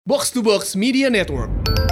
Box to Box Media Network.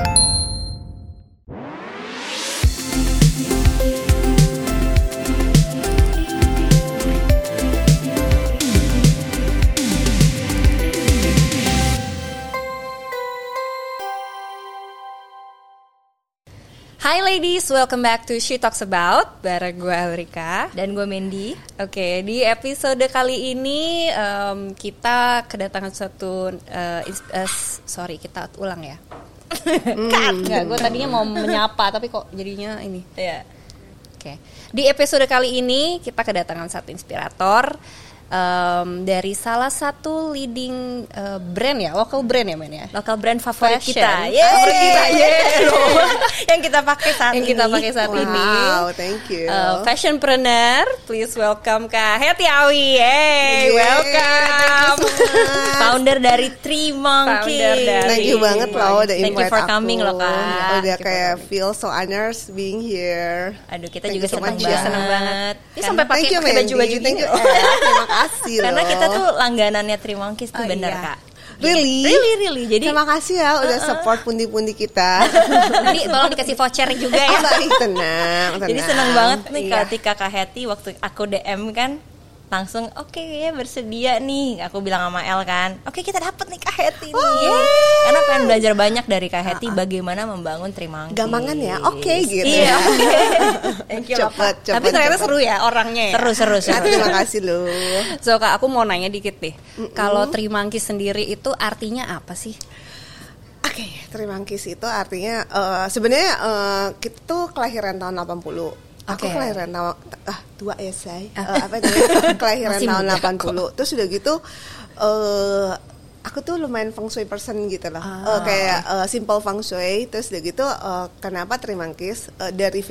Hi ladies, welcome back to She Talks About bareng gue Elrika dan gue Mandy. Oke, di episode kali ini kita kedatangan suatu kita ulang ya. Enggak, gue tadinya mau menyapa tapi kok jadinya ini. Iya. Oke, di episode kali ini kita kedatangan satu inspirator dari salah satu leading brand ya, local brand ya men ya, Local brand favorit Fashion. kita. Favorit kita, Yang kita pakai saat yang ini. kita pakai saat ini. Wow, thank you. Fashionpreneur, please welcome Kak Hetty Awi. Hey, welcome. Founder dari Three Monkeys. Founder dari Thank you banget loh udah invite Thank you for aku. coming loh, Kak. Udah kayak feel so honored being here. Aduh, kita Thank juga you so senang much, banget. senang banget. Ini Karena- sampai pakai Thank you, baju-baju Mandy. gini. Thank you. Terima kasih loh. Karena kita tuh langganannya Three Monkeys tuh Oh, bener iya. Kak. Really? Really. Jadi Terima kasih ya udah support pundi-pundi kita. Ini tolong dikasih voucher juga ya. Baik, tenang. Jadi senang banget nih Iya. ketika Kak Hetty waktu aku DM kan langsung oke ya bersedia nih. Aku bilang sama El kan, oke kita dapet nih Kak Hetty nih. Karena pengen belajar banyak dari Kak Hetty bagaimana membangun Three Monkeys. Gampangan ya, oke gitu Iya. ya. Thank you loh, Kak. Cepet, Tapi ternyata seru ya orangnya ya. Seru. Terima kasih loh. So Kak, aku mau nanya dikit deh. Kalau Three Monkeys sendiri itu artinya apa sih? Oke, Three Monkeys itu artinya sebenarnya kita tuh kelahiran tahun 80. Aku Oke. kelahiran tahun tua ya say. Apa namanya? Kelahiran Masih tahun muda 80. Terus udah gitu aku tuh lumayan feng shui person gitu loh. Kayak simple feng shui. Terus udah gitu kenapa Three Monkeys dari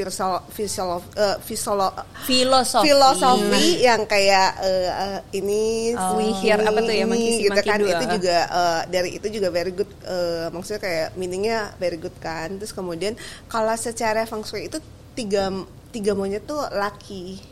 filosofi yang kayak ini Wihir apa tuh ya, monkey gitu kan dua. itu juga dari itu juga very good, maksudnya kayak meaningnya very good kan. Terus kemudian kalau secara feng shui itu tiga monyet tuh laki.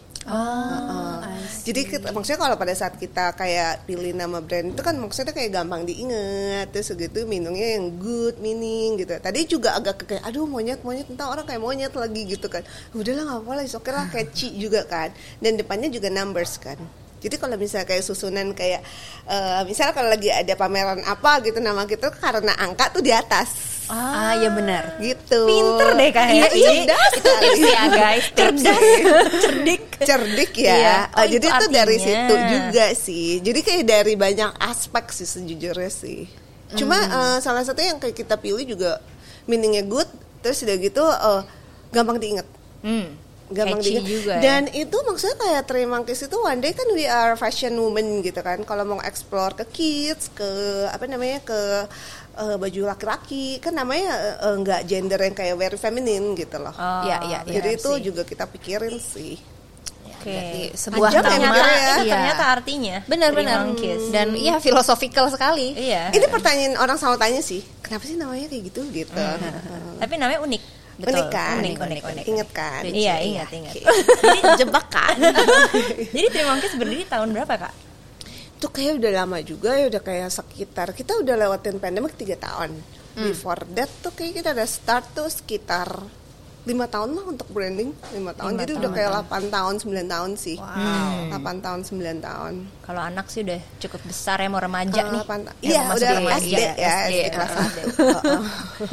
Jadi maksudnya kalau pada saat kita kayak pilih nama brand itu kan maksudnya kayak gampang diingat. Terus gitu meaningnya yang good meaning gitu. Tadi juga agak kayak aduh monyet entah orang kayak monyet lagi gitu kan. Udahlah nggak apa-apa lah, oke lah catchy juga kan. Dan depannya juga numbers kan. Jadi kalau misalnya kayak susunan kayak misalnya kalau lagi ada pameran apa gitu nama kita karena angka tuh di atas. Iya benar. Gitu. Pinter deh Kak Iya, Hetty. cerdas Itu tips sekali. ya guys. Cerdas. Cerdik ya. Iya. Oh, Jadi itu itu dari artinya. situ juga sih. Jadi kayak dari banyak aspek sih sejujurnya sih. Cuma salah satu yang kayak kita pilih juga meaningnya good. Terus udah gitu gampang diingat. Gampang Catchy diingat. juga ya. Dan itu maksudnya kayak Three Monkeys itu one day kan we are fashion woman gitu kan. Kalau mau explore ke kids, ke apa namanya ke baju laki-laki kan namanya nggak gender yang kayak very feminine gitu loh. Iya. Jadi itu sih. juga kita pikirin sih. Oke. Sebuah Panjang ya nama. mikirnya ya. Ini ternyata artinya Benar. Three Monkeys. Dan iya filosofikal sekali. Iya. Ini pertanyaan orang selalu tanya sih, kenapa sih namanya kayak gitu gitu. Tapi namanya unik. Unik kan? Unik. Ingat kan? Iya, ingat. Oke. Jadi jebak kan. Jadi Three Monkeys berdiri tahun berapa Kak? Itu kayak udah lama juga ya, udah kayak sekitar kita udah lewatin pandemic 3 tahun. Before that tuh kayak kita udah start tuh sekitar 5 tahun lah untuk branding, 5 tahun. Jadi udah kayak 8 tahun, 9 tahun sih. 8 tahun, 9 tahun. Kalau anak sih udah cukup besar ya, mau remaja nih. Iya, Mau masuk udah remaja. SD ya, SD kelas 1.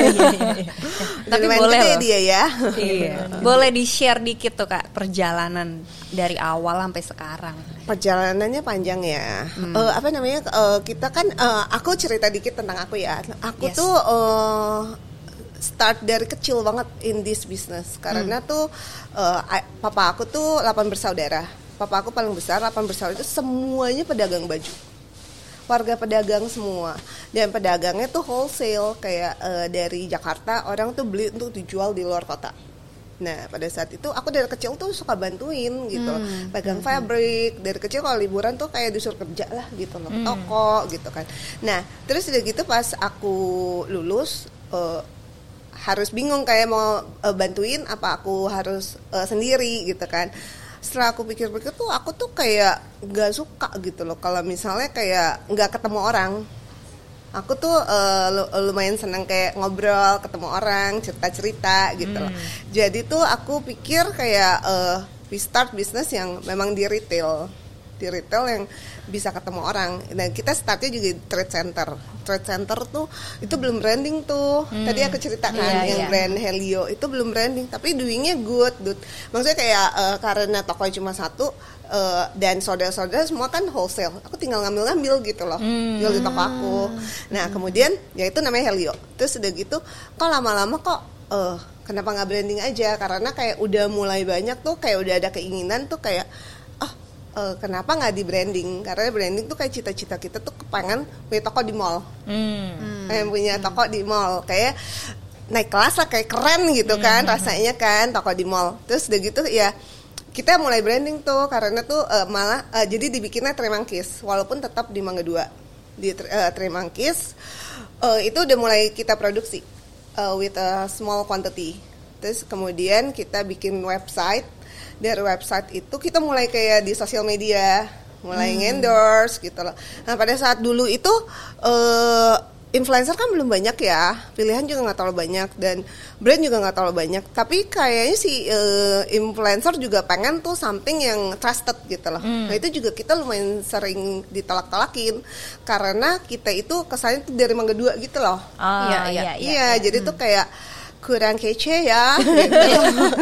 Tapi Lumayan boleh gede loh. dia ya. Iya. Boleh di-share dikit tuh Kak perjalanan dari awal sampai sekarang. Perjalanannya panjang ya. Apa namanya? Kita kan aku cerita dikit tentang aku ya. Aku Yes. tuh start dari kecil banget in this business karena tuh papa aku tuh 8 bersaudara. Papa aku paling besar, 8 bersaudara itu semuanya pedagang baju. Warga pedagang semua. Dan pedagangnya tuh wholesale kayak dari Jakarta orang tuh beli untuk dijual di luar kota. Nah pada saat itu aku dari kecil tuh suka bantuin gitu loh. Pegang fabric. Dari kecil kalau liburan tuh kayak disuruh kerja lah gitu loh, ke toko gitu kan. Nah terus udah gitu pas aku lulus harus bingung kayak mau bantuin apa aku harus sendiri gitu kan. Setelah aku pikir-pikir tuh aku tuh kayak gak suka gitu loh kalau misalnya kayak gak ketemu orang. Aku tuh lumayan senang kayak ngobrol, ketemu orang, cerita-cerita gitu loh. Jadi tuh aku pikir kayak we start business yang memang di retail yang bisa ketemu orang. Dan kita startnya juga di trade center. Trade center tuh itu belum branding tuh. Tadi aku ceritakan yang brand Helio itu belum branding, tapi doingnya good. Maksudnya kayak karena tokonya cuma satu. Dan saudara-saudara semua kan wholesale. Aku tinggal ngambil gitu loh, jual di toko aku. Nah kemudian ya itu namanya Helio. Terus udah gitu, kok lama-lama kok kenapa nggak branding aja? Karena kayak udah mulai banyak tuh, kayak udah ada keinginan tuh kayak kenapa nggak di branding? Karena branding tuh kayak cita-cita kita tuh kepengen punya toko di mall, punya toko di mall kayak naik kelas lah, kayak keren gitu kan rasanya kan toko di mall. Terus udah gitu ya. Kita mulai branding tuh karena tuh malah jadi dibikinnya Tremangkis walaupun tetap di Mangga 2 di Tremangkis itu udah mulai kita produksi with a small quantity. Terus kemudian kita bikin website. Dari website itu kita mulai kayak di sosial media mulai endorse gitu loh. Nah pada saat dulu itu influencer kan belum banyak ya, pilihan juga nggak terlalu banyak dan brand juga nggak terlalu banyak. Tapi kayaknya si influencer juga pengen tuh something yang trusted gitu loh. Nah itu juga kita lumayan sering ditolak-tolakin karena kita itu kesannya tuh dari Mangga 2 gitu loh. Iya. Jadi tuh kayak kurang kece ya, gitu.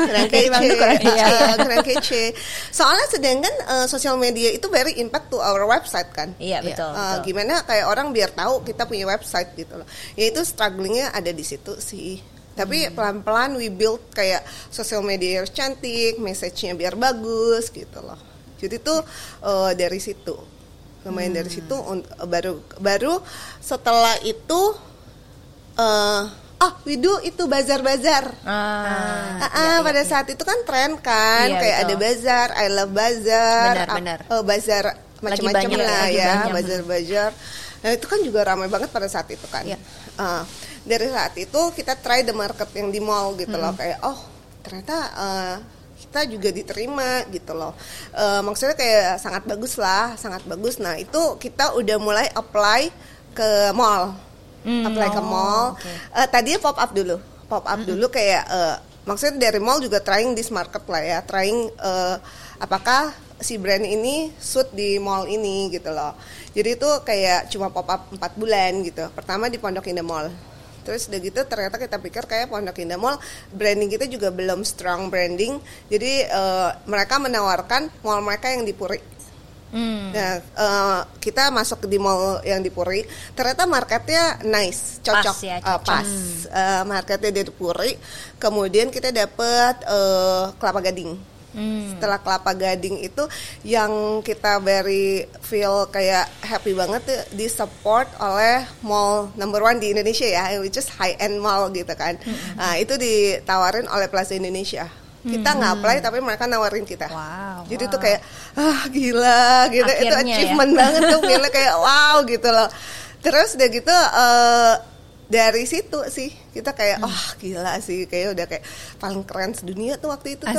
kurang kece. Soalnya sedangkan sosial media itu very impact to our website kan. Iya betul. Gimana kayak orang biar tahu kita punya website gitu loh. Ya itu strugglingnya ada di situ sih. Tapi pelan-pelan we build kayak sosial media yang cantik, message-nya biar bagus gitu loh. Jadi tuh dari situ, lumayan dari situ baru setelah itu. We do itu bazar-bazar. Pada saat itu kan tren kan, kayak ada bazar, I love bazar, bazar macam-macam lah ya, bazar-bazar. Nah itu kan juga ramai banget pada saat itu kan. Dari saat itu kita try the market yang di mall gitu loh, kayak ternyata kita juga diterima gitu loh. Maksudnya kayak sangat bagus. Nah itu kita udah mulai apply ke mall. Ke mall. Tadinya pop up dulu kayak maksudnya dari mall juga trying this market lah ya, trying apakah si brand ini suit di mall ini gitu loh. Jadi itu kayak cuma pop up 4 bulan gitu. Pertama di Pondok Indah Mall. Terus udah gitu ternyata kita pikir kayak Pondok Indah Mall branding kita juga belum strong branding. Jadi mereka menawarkan mall mereka yang di Puri. Nah, kita masuk di mall yang di Puri, ternyata marketnya nice, cocok, pas. Marketnya di Puri, kemudian kita dapet Kelapa Gading. Setelah Kelapa Gading itu yang kita very feel kayak happy banget tuh, di support oleh mall number 1 di Indonesia ya, which is high end mall gitu kan. Nah, itu ditawarin oleh Plaza Indonesia. Kita nggak apply tapi mereka nawarin kita. Jadi tuh kayak gila gitu. Akhirnya, itu achievement banget tuh, feelnya kayak wow gitu loh. Terus udah gitu dari situ sih kita kayak gila sih, kayak udah kayak paling keren sedunia tuh waktu itu tuh.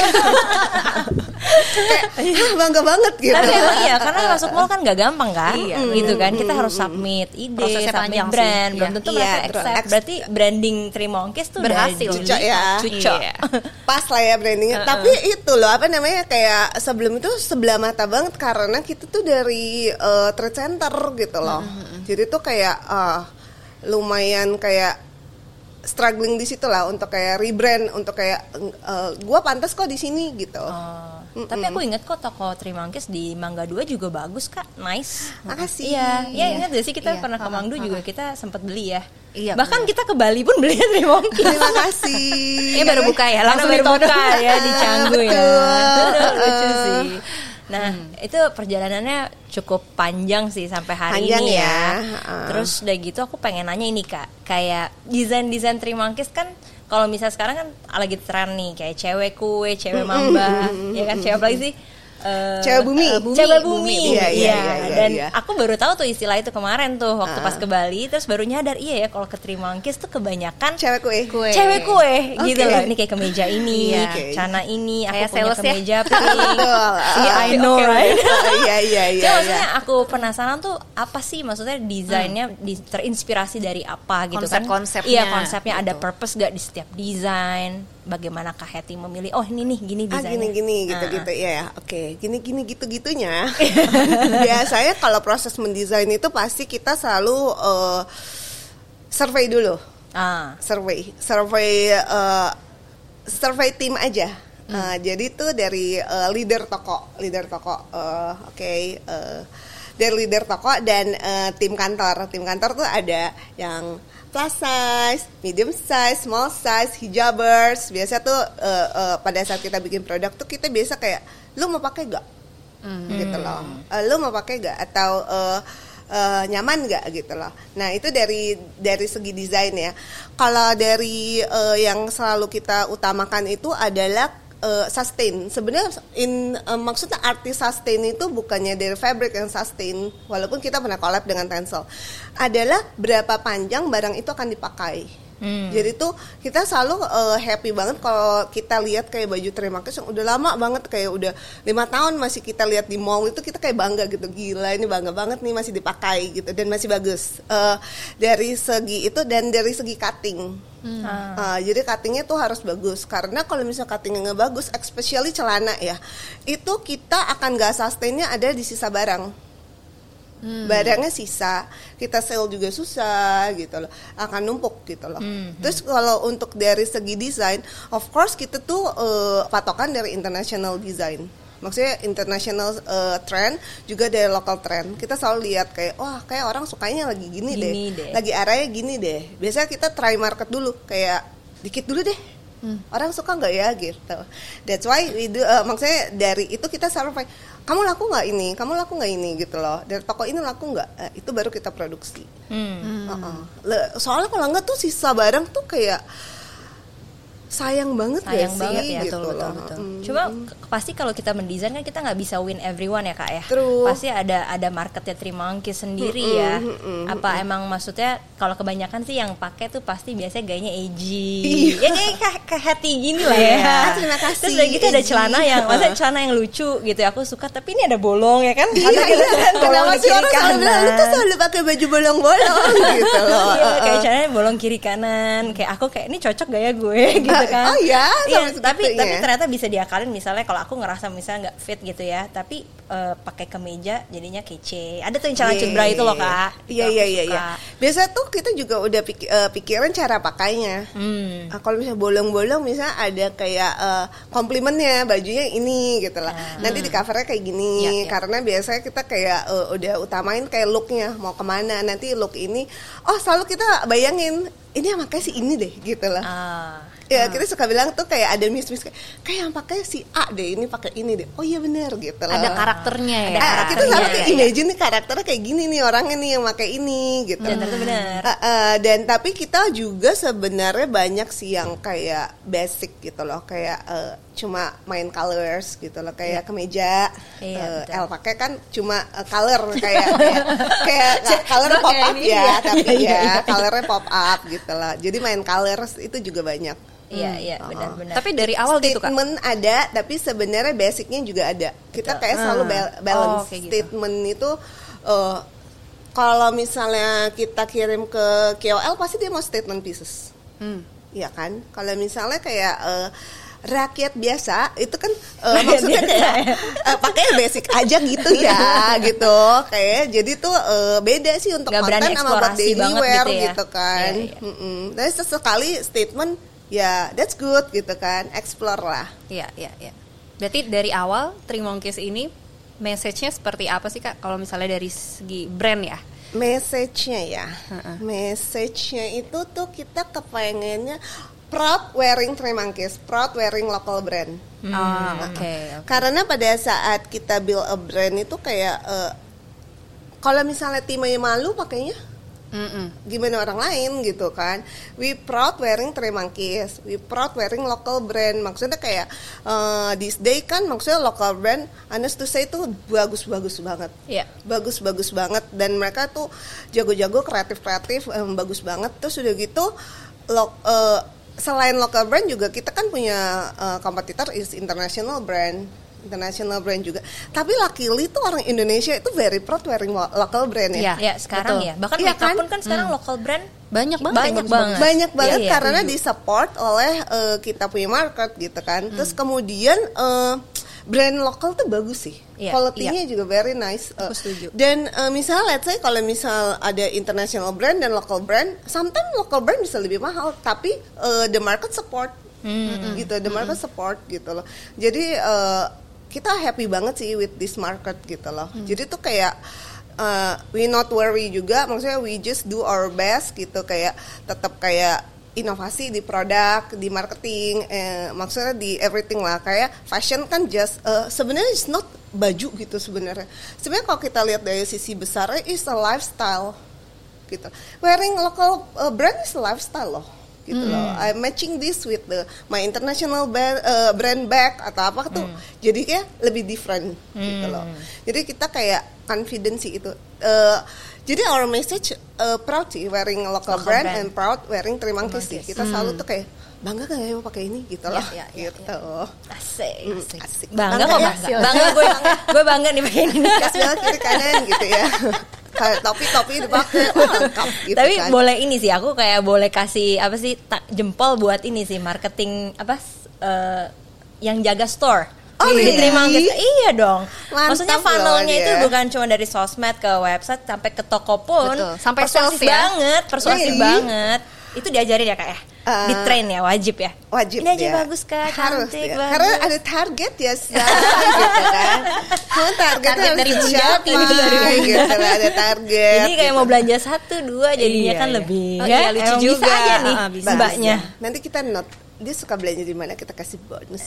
Kayak bangga banget gitu. Tapi emang iya, karena masuk mall kan gak gampang kan, gitu kan. Kita harus submit ide, prosesnya submit brand, belum tentu mereka accept. Berarti branding Tremangkis tuh berhasil. Cucok. Pas lah ya brandingnya. Tapi itu loh apa namanya, kayak sebelum itu sebelah mata banget karena kita tuh dari trade center gitu loh. Jadi tuh kayak lumayan kayak struggling di situ lah untuk kayak rebrand, untuk kayak gue pantas kok di sini gitu. Tapi aku inget kok toko Tremangkis di Mangga 2 juga bagus Kak, nice. Makasih. Iya ingat gak sih kita pernah ke Mangga 2 juga kita sempat beli ya. Bahkan kita ke Bali pun beli Tremangkis. Terima kasih. Ini baru buka ya, langsung baru buka ya di Canggu ya. Lucu sih. Nah, itu perjalanannya cukup panjang sih sampai hari ini ya. Terus udah gitu aku pengen nanya ini Kak, kayak desain Tremangkis kan kalau misalnya sekarang kan lagi tren nih kayak cewek kue, cewek mamba, ya kan, cewek apalagi sih Cewek bumi. Cewek bumi. Iya. Dan aku baru tahu tuh istilah itu kemarin tuh waktu pas ke Bali, terus baru nyadar iya ya kalau ke Three Monkeys tuh kebanyakan Cewek kue. cewek kue gitu Oke. loh. Ini kayak kemeja ini, Oke. celana ini, aku Kayak punya sales ya. kemeja pink. Betul. I know right. Iya. Cuma maksudnya aku penasaran tuh apa sih maksudnya desainnya terinspirasi dari apa gitu kan? Konsep-konsepnya. Iya konsepnya ada purpose gak di setiap desain? Bagaimana Kak Hetty memilih? Oh ini nih gini desainnya. Gini gitu ya. Oke, gini gitu-gitunya. Biasanya kalau proses mendesain itu pasti kita selalu survei dulu. Survey tim aja. Jadi tuh dari leader toko, dari leader toko dan tim kantor. Tim kantor tuh ada yang plus size, medium size, small size, hijabers. Biasa tuh pada saat kita bikin produk tuh kita biasa kayak, lu mau pakai gak? Gitu loh. Lu mau pakai gak? Atau nyaman gak gitu loh. Nah itu dari segi desain ya. Kalau dari yang selalu kita utamakan itu adalah sustain. Sebenarnya maksudnya arti sustain itu bukannya dari fabric yang sustain, walaupun kita pernah collab dengan Tencel, adalah berapa panjang barang itu akan dipakai. Jadi tuh kita selalu happy banget kalau kita lihat kayak baju Three Monkeys yang udah lama banget, kayak udah 5 tahun masih kita lihat di mall itu, kita kayak bangga gitu, gila ini bangga banget nih masih dipakai gitu dan masih bagus dari segi itu dan dari segi cutting. Jadi cuttingnya tuh harus bagus, karena kalau misalnya cuttingnya nggak bagus, especially celana ya, itu kita akan nggak sustainnya ada di sisa barang. Barangnya sisa, kita sell juga susah gitu loh, akan numpuk gitu loh. Terus kalau untuk dari segi desain, of course kita tuh patokan dari international design. Maksudnya international trend juga dari local trend. Kita selalu lihat kayak, wah kayak orang sukanya lagi gini deh, lagi arahnya gini deh. Biasanya kita try market dulu, kayak dikit dulu deh. Orang suka nggak ya gitu. That's why we do, maksudnya dari itu kita selalu kamu laku nggak ini, kamu laku nggak ini gitu loh. Dari toko ini laku nggak, itu baru kita produksi. Soalnya kalau nggak tuh sisa barang tuh kayak sayang banget ya sih, gitu loh. Cuma pasti kalau kita mendesain kan kita nggak bisa win everyone ya Kak ya. True. Pasti ada marketnya Three Monkeys sendiri ya. Apa emang maksudnya kalau kebanyakan sih yang pakai tuh pasti biasanya gayanya edgy. Ya kayak Hetty gini lah ya. Terima kasih. Terus udah gitu ada celana yang maksudnya celana yang lucu gitu. Aku suka tapi ini ada bolong ya kan. Iya. Kenapa sih orang selalu bilang lu tuh selalu pakai baju bolong-bolong gitu loh. Iya, kayak celananya bolong kiri kanan. Kayak aku kayak ini cocok gak ya gue gitu kan. Oh iya, tapi ternyata bisa diakalin, misalnya kalau aku ngerasa misalnya nggak fit gitu ya, tapi pakai kemeja jadinya kece. Ada tuh yang celana cut bra itu loh Kak. Iya. Biasa tuh kita juga udah pikiran cara pakainya. Kalau misalnya bolong-bolong, misalnya ada kayak komplimennya bajunya ini gitu lah. Nanti di covernya kayak gini, karena biasanya kita kayak udah utamain kayak looknya mau kemana. Nanti look ini, selalu kita bayangin ini yang pakai si ini deh gitu lah. Ya kita suka bilang tuh kayak ada miss kayak yang pakai si A deh, ini pakai ini deh. Oh iya benar gitu lah. Ada karakternya ya. Kita selalu kayak imagine nih karakternya kayak gini nih, orangnya nih yang pakai ini gitu. Dan itu benar. Dan tapi kita juga sebenarnya banyak sih yang kayak basic gitu loh, kayak cuma main colors gitu loh, kayak kemeja El pakai kan cuma color kayak color pop up ya, tapi ya colornya pop up gitu loh. Jadi main colors itu juga banyak. Iya benar-benar. Tapi dari awal gitu Kak. Statement ada, tapi sebenarnya basicnya juga ada. Kita kayak selalu balance. Statement itu kalau misalnya kita kirim ke KOL pasti dia mau statement pieces. Iya kan? Kalau misalnya kayak rakyat biasa itu kan maksudnya kayak pakai basic aja gitu ya gitu, kayak jadi tuh beda sih untuk gak konten sama buat daily wear gitu kan. Tapi sesekali statement ya that's good gitu kan, explore lah. Iya. Berarti dari awal Three Monkeys ini message-nya seperti apa sih Kak? Kalau misalnya dari segi brand ya? Message-nya itu tuh kita kepengennya proud wearing Three Monkeys, proud wearing local brand. Okay. Karena pada saat kita build a brand itu kayak kalau misalnya timnya malu pakainya, Gimana orang lain gitu kan. We proud wearing Three Monkeys, we proud wearing local brand. Maksudnya kayak this day kan maksudnya local brand, honest to say tuh bagus-bagus banget. Iya. Bagus-bagus banget, dan mereka tuh jago-jago, kreatif-kreatif, bagus banget. Terus udah gitu selain local brand juga kita kan punya kompetitor is international brand juga. Tapi luckily tuh orang Indonesia itu very proud wearing local brand ya. Ya sekarang Betul. ya. Bahkan Iya makeup kan? pun kan sekarang local brand Banyak banget. Banyak banget Iya, karena disupport oleh kita punya market gitu kan. Terus kemudian brand lokal tuh bagus sih. Iya, Quality-nya juga very nice. Aku setuju. Dan misal let's say kalau misal ada international brand dan local brand, sometimes local brand bisa lebih mahal, tapi the market support. Gitu, the market support gitu loh. Jadi kita happy banget sih with this market gitu loh. Jadi tuh kayak we not worry juga, maksudnya we just do our best gitu, kayak tetap kayak inovasi di produk, di marketing, maksudnya di everything lah. Kayak fashion kan just sebenarnya it's not baju gitu sebenarnya. Sebenarnya kalau kita lihat dari sisi besarnya is a lifestyle gitu. Wearing local brand is a lifestyle loh. Gitu loh. I'm matching this with my international brand bag atau apa tuh. Jadi kayak lebih different gitu loh. Jadi kita kayak confidence itu. Jadi our message proud sih wearing local brand and proud wearing Three Monkeys sih. Kita selalu tuh kayak bangga gak ya mau pakai ini gitu loh. Gitu. Asik. Bangga kok bangga gue bangga nih pakai ini. Kasih kiri kanan gitu ya. Kayak topi dipakai lengkap gitu. Tapi kan. boleh ini sih, aku kayak boleh kasih apa sih jempol buat ini sih marketing yang jaga store. Really? Terima kasih. Iya dong. Mantap Maksudnya loh funnelnya dia. itu bukan cuma dari sosmed ke website sampai ke toko pun. Betul. Sampai persuasif sales ya. persuasif Really? banget. Itu diajarin ya kak ya? Di train ya, wajib ya? Wajib ini aja ya. bagus kak, Harus cantik ya. bagus. Karena ada target ya gitu kan. Karena targetnya Target dari harus Bunjati. dicapai gitu lah, ada target. Jadi kayak gitu. mau belanja 1-2 jadinya Iya, kan iya. lebih Oh, ya. iya, lucu Emang juga. Bisa aja nih Bisa. mbaknya. Nanti kita note dia suka belanja di mana, kita kasih bonus.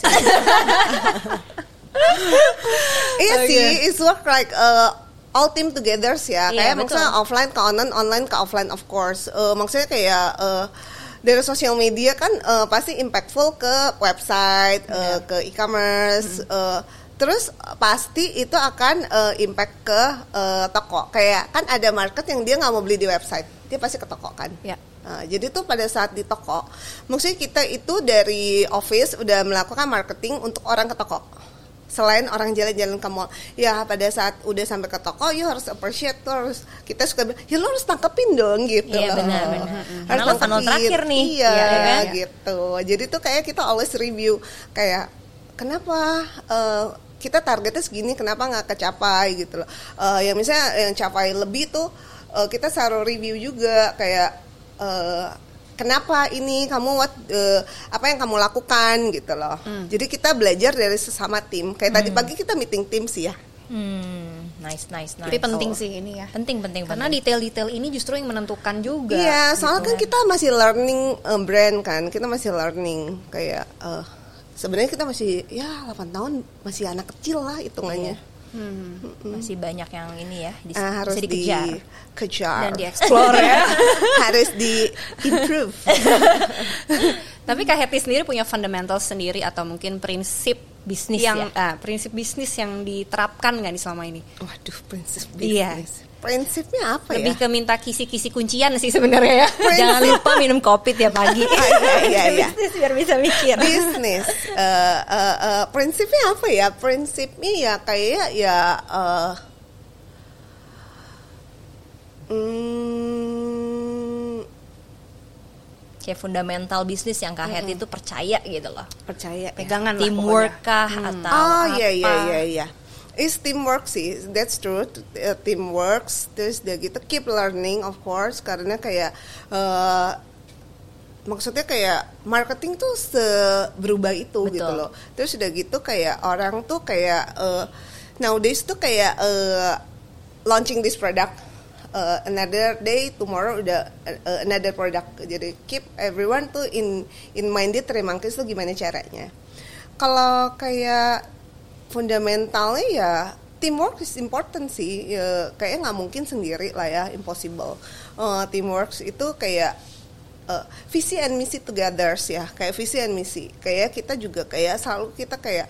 Iya sih, it's work like all team together sih ya. Iya, Kayak maksudnya offline ke online, online ke offline of course. Maksudnya kayak dari sosial media kan pasti impactful ke website, ke e-commerce. Terus pasti itu akan impact ke toko. Kayak kan ada market yang dia nggak mau beli di website, dia pasti ke toko kan. Ya. Jadi tuh pada saat di toko, maksudnya kita itu dari office udah melakukan marketing untuk orang ke toko. Selain orang jalan-jalan ke mall, ya pada saat udah sampai ke toko, you harus appreciate, terus kita suka bilang, ya lo harus tangkepin dong gitu Iya, loh. benar. Harus Karena lo funnel terakhir nih. Iya, Iya, kan? gitu. Jadi tuh kayak kita always review, kayak kenapa kita targetnya segini, kenapa nggak kecapai gitu loh. Yang misalnya yang capai lebih tuh kita selalu review juga kayak kenapa ini kamu apa yang kamu lakukan gitu loh. Jadi kita belajar dari sesama tim. Kayak tadi pagi kita meeting tim sih ya. Nice. Tapi penting sih ini ya. Penting. Karena detail-detail ini justru yang menentukan juga. Iya, soalnya kan kita masih learning brand kan. Kita masih learning kayak sebenarnya kita masih ya 8 tahun masih anak kecil lah hitungannya. Masih banyak yang ini ya Harus bisa dikejar. dikejar Dan di-explore ya. harus di-improve. Tapi Kak Happy sendiri punya fundamental sendiri atau mungkin prinsip Bisnis yang ya? prinsip bisnis yang diterapkan nggak nih selama ini? Waduh, prinsip Iya. bisnis. Prinsipnya apa Lebih ya? ke minta kisi-kisi kuncian sih sebenarnya ya. Jangan lupa minum kopi tiap pagi. Iya. Bisnis biar bisa mikir. Bisnis. Prinsipnya apa ya? Prinsipnya ya kayak ya Kayak fundamental bisnis yang Kak Het itu percaya gitu loh. percaya ya. Pegangan lah Teamwork pokoknya. kah atau Oh apa? iya. It's teamwork sih, that's true. Teamwork, terus udah gitu keep learning of course, karena kayak maksudnya kayak marketing tuh berubah itu. Betul. Gitu loh. Terus udah gitu kayak orang tuh kayak nowadays tuh kayak launching this product. Another day, tomorrow udah another product. Jadi keep everyone tuh in minded Three Monkeys tuh gimana caranya. Kalau kayak fundamentalnya ya teamwork is important sih. Ya, kayaknya nggak mungkin sendiri lah ya, impossible. Teamwork itu kayak visi and misi together ya, kayak visi and misi. Kayak kita juga kayak selalu kita kayak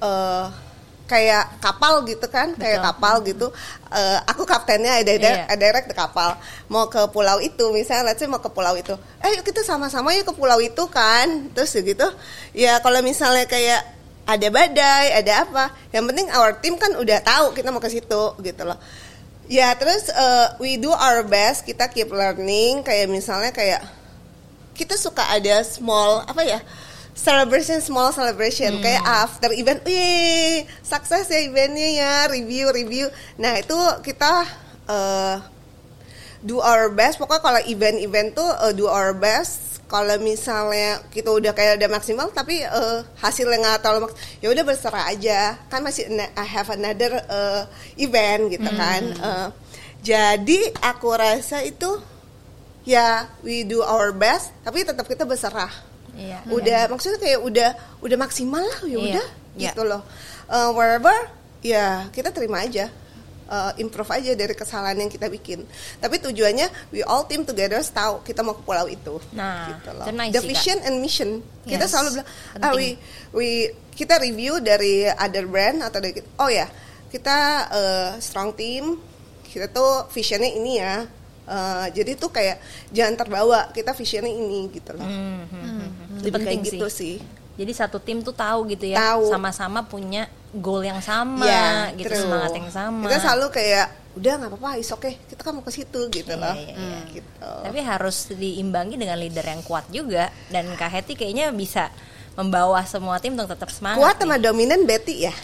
kayak kapal gitu kan. Betul. Kayak kapal gitu. Aku kaptennya, I direct the kapal. Mau ke pulau itu, misalnya let's say mau ke pulau itu. Yuk kita sama-sama yuk ke pulau itu kan. Terus gitu. Ya kalau misalnya kayak ada badai, ada apa, yang penting our team kan udah tahu kita mau ke situ gitu loh. Ya terus we do our best, kita keep learning. Kayak misalnya kayak kita suka ada small apa ya, small celebration kayak after event, sukses ya eventnya ya, review. Nah itu kita do our best. Pokoknya kalau event tuh do our best. Kalau misalnya kita udah kayak udah maksimal tapi hasilnya nggak terlalu ya udah berserah aja, kan masih I have another event gitu kan. Jadi aku rasa itu ya we do our best tapi tetap kita berserah. Iya. Udah maksudnya kayak udah maksimal lah ya udah Iya. gitu loh. Wherever ya kita terima aja. Improve aja dari kesalahan yang kita bikin. Tapi tujuannya we all team together tahu kita mau ke pulau itu. Nah, gitu loh. itu nice The sih, vision and mission. Kita Yes, selalu bilang penting. kita review dari other brand atau dari kita strong team. Kita tuh visionnya ini ya. Jadi tuh kayak jangan terbawa, kita visionnya ini gitu loh. Itu Lebih penting kayak sih. gitu sih. Jadi satu tim tuh tahu gitu ya, Tahu. sama-sama punya goal yang sama, Ya, gitu, true. semangat yang sama. Kita selalu kayak udah nggak apa-apa, is okay. Kita kan mau ke situ gitu loh. Iya. Gitu. Tapi harus diimbangi dengan leader yang kuat juga. Dan Kak Hetty kayaknya bisa membawa semua tim untuk tetap semangat. Kuat sama dominan Betty ya.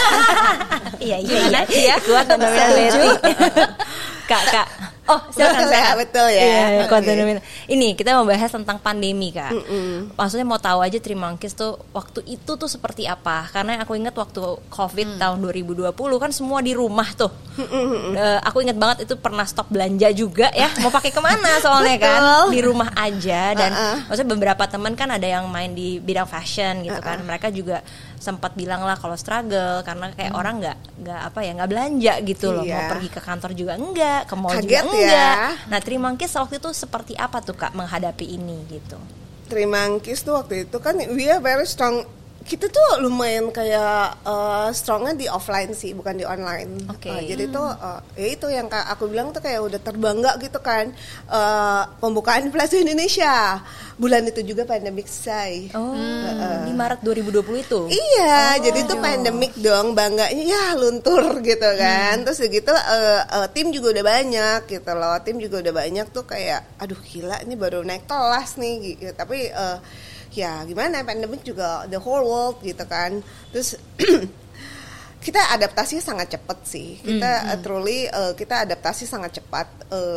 Iya. Kuat dan dominan Betty. Kak. Oh, silakan Betul ya, Kak. betul ya. Iya, kuat Oke. dan dominan. Ini kita mau bahas tentang pandemi, Kak. Maksudnya mau tahu aja Trimangkis tuh waktu itu tuh seperti apa? Karena aku ingat waktu Covid tahun 2020 kan semua di rumah tuh. Aku ingat banget itu pernah stop belanja juga ya. Mau pakai kemana soalnya kan? Di rumah aja. Dan maksudnya beberapa teman kan ada yang main di bidang fashion gitu kan. Mereka juga sempat bilang lah kalau struggle karena kayak orang nggak belanja gitu loh. Iya. Mau pergi ke kantor juga enggak, ke mall Kaget juga ya. enggak. Nah, Trimangkis waktu itu seperti apa tuh Kak menghadapi ini gitu? Trimangkis tuh waktu itu kan we are very strong. Kita tuh lumayan kayak strongnya di offline sih, bukan di online. Oke. Jadi tuh ya itu yang aku bilang tuh kayak udah terbangga gitu kan. Pembukaan Plaza Indonesia. Bulan itu juga pandemic selesai. Oh, di Maret 2020 itu? Iya, jadi tuh pandemik dong, bangganya ya luntur gitu kan. Terus gitu tim juga udah banyak gitu loh. Tim juga udah banyak tuh kayak aduh gila ini baru naik kelas nih gitu. Tapi ya gimana, pandemik juga the whole world gitu kan. Terus kita adaptasinya sangat cepat sih. Kita truly kita adaptasi sangat cepat.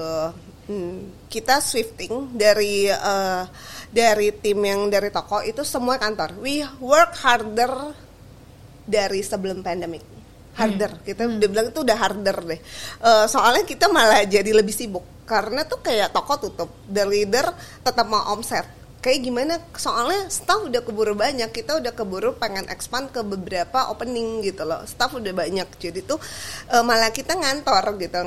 Kita shifting dari tim yang dari toko itu semua kantor. We work harder dari sebelum pandemic. Harder, kita udah bilang itu udah harder deh. Soalnya kita malah jadi lebih sibuk karena tuh kayak toko tutup, the leader tetap mau omset. Kayak gimana? Soalnya staff udah keburu banyak, kita udah keburu pengen expand ke beberapa opening gitu loh. Staff udah banyak, jadi tuh malah kita ngantor gitu,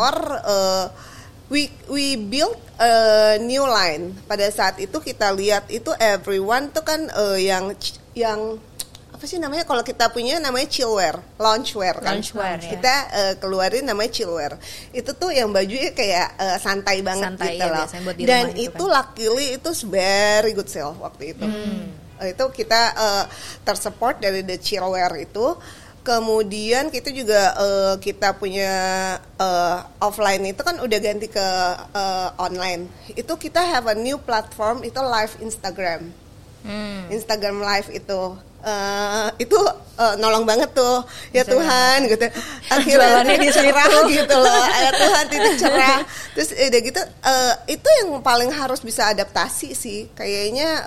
we build a new line. Pada saat itu kita lihat itu everyone tuh kan yang apa sih namanya, kalau kita punya namanya chillwear, loungewear kan. Loungewear, ya. Kita keluarin namanya chillwear. Itu tuh yang bajunya kayak santai banget Santai, gitu ya, loh. biasanya buat di Dan rumah gitu itu kan. luckily itu very good sale waktu itu. Itu kita tersupport dari the chillwear itu. Kemudian kita juga kita punya offline itu kan udah ganti ke online. Itu kita have a new platform, itu live Instagram. Instagram live itu nolong banget tuh ya Tuhan gitu, akhirnya cerah gitu loh ya Tuhan, titik cerah. Terus udah gitu itu yang paling harus bisa adaptasi sih kayaknya.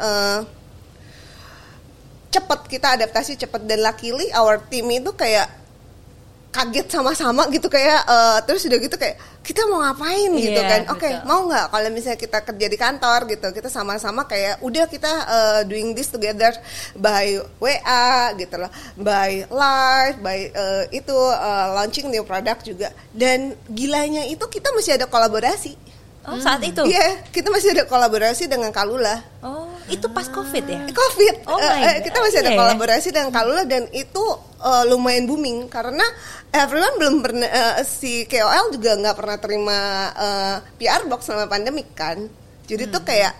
Cepet kita adaptasi cepet, dan luckily our team itu kayak kaget sama-sama gitu kayak terus udah gitu kayak kita mau ngapain gitu kan. Oke, mau nggak kalau misalnya kita kerja di kantor gitu, kita sama-sama kayak udah kita doing this together by WA gitu loh, by live, by launching new product juga. Dan gilanya itu kita masih ada kolaborasi. Saat itu? Iya, kita masih ada kolaborasi dengan Kalula. Oh, itu pas COVID ya? COVID. Oh my God. Kita masih ada kolaborasi dengan Kalula dan itu lumayan booming karena everyone belum pernah si KOL juga nggak pernah terima PR box selama pandemik kan. Jadi tuh kayak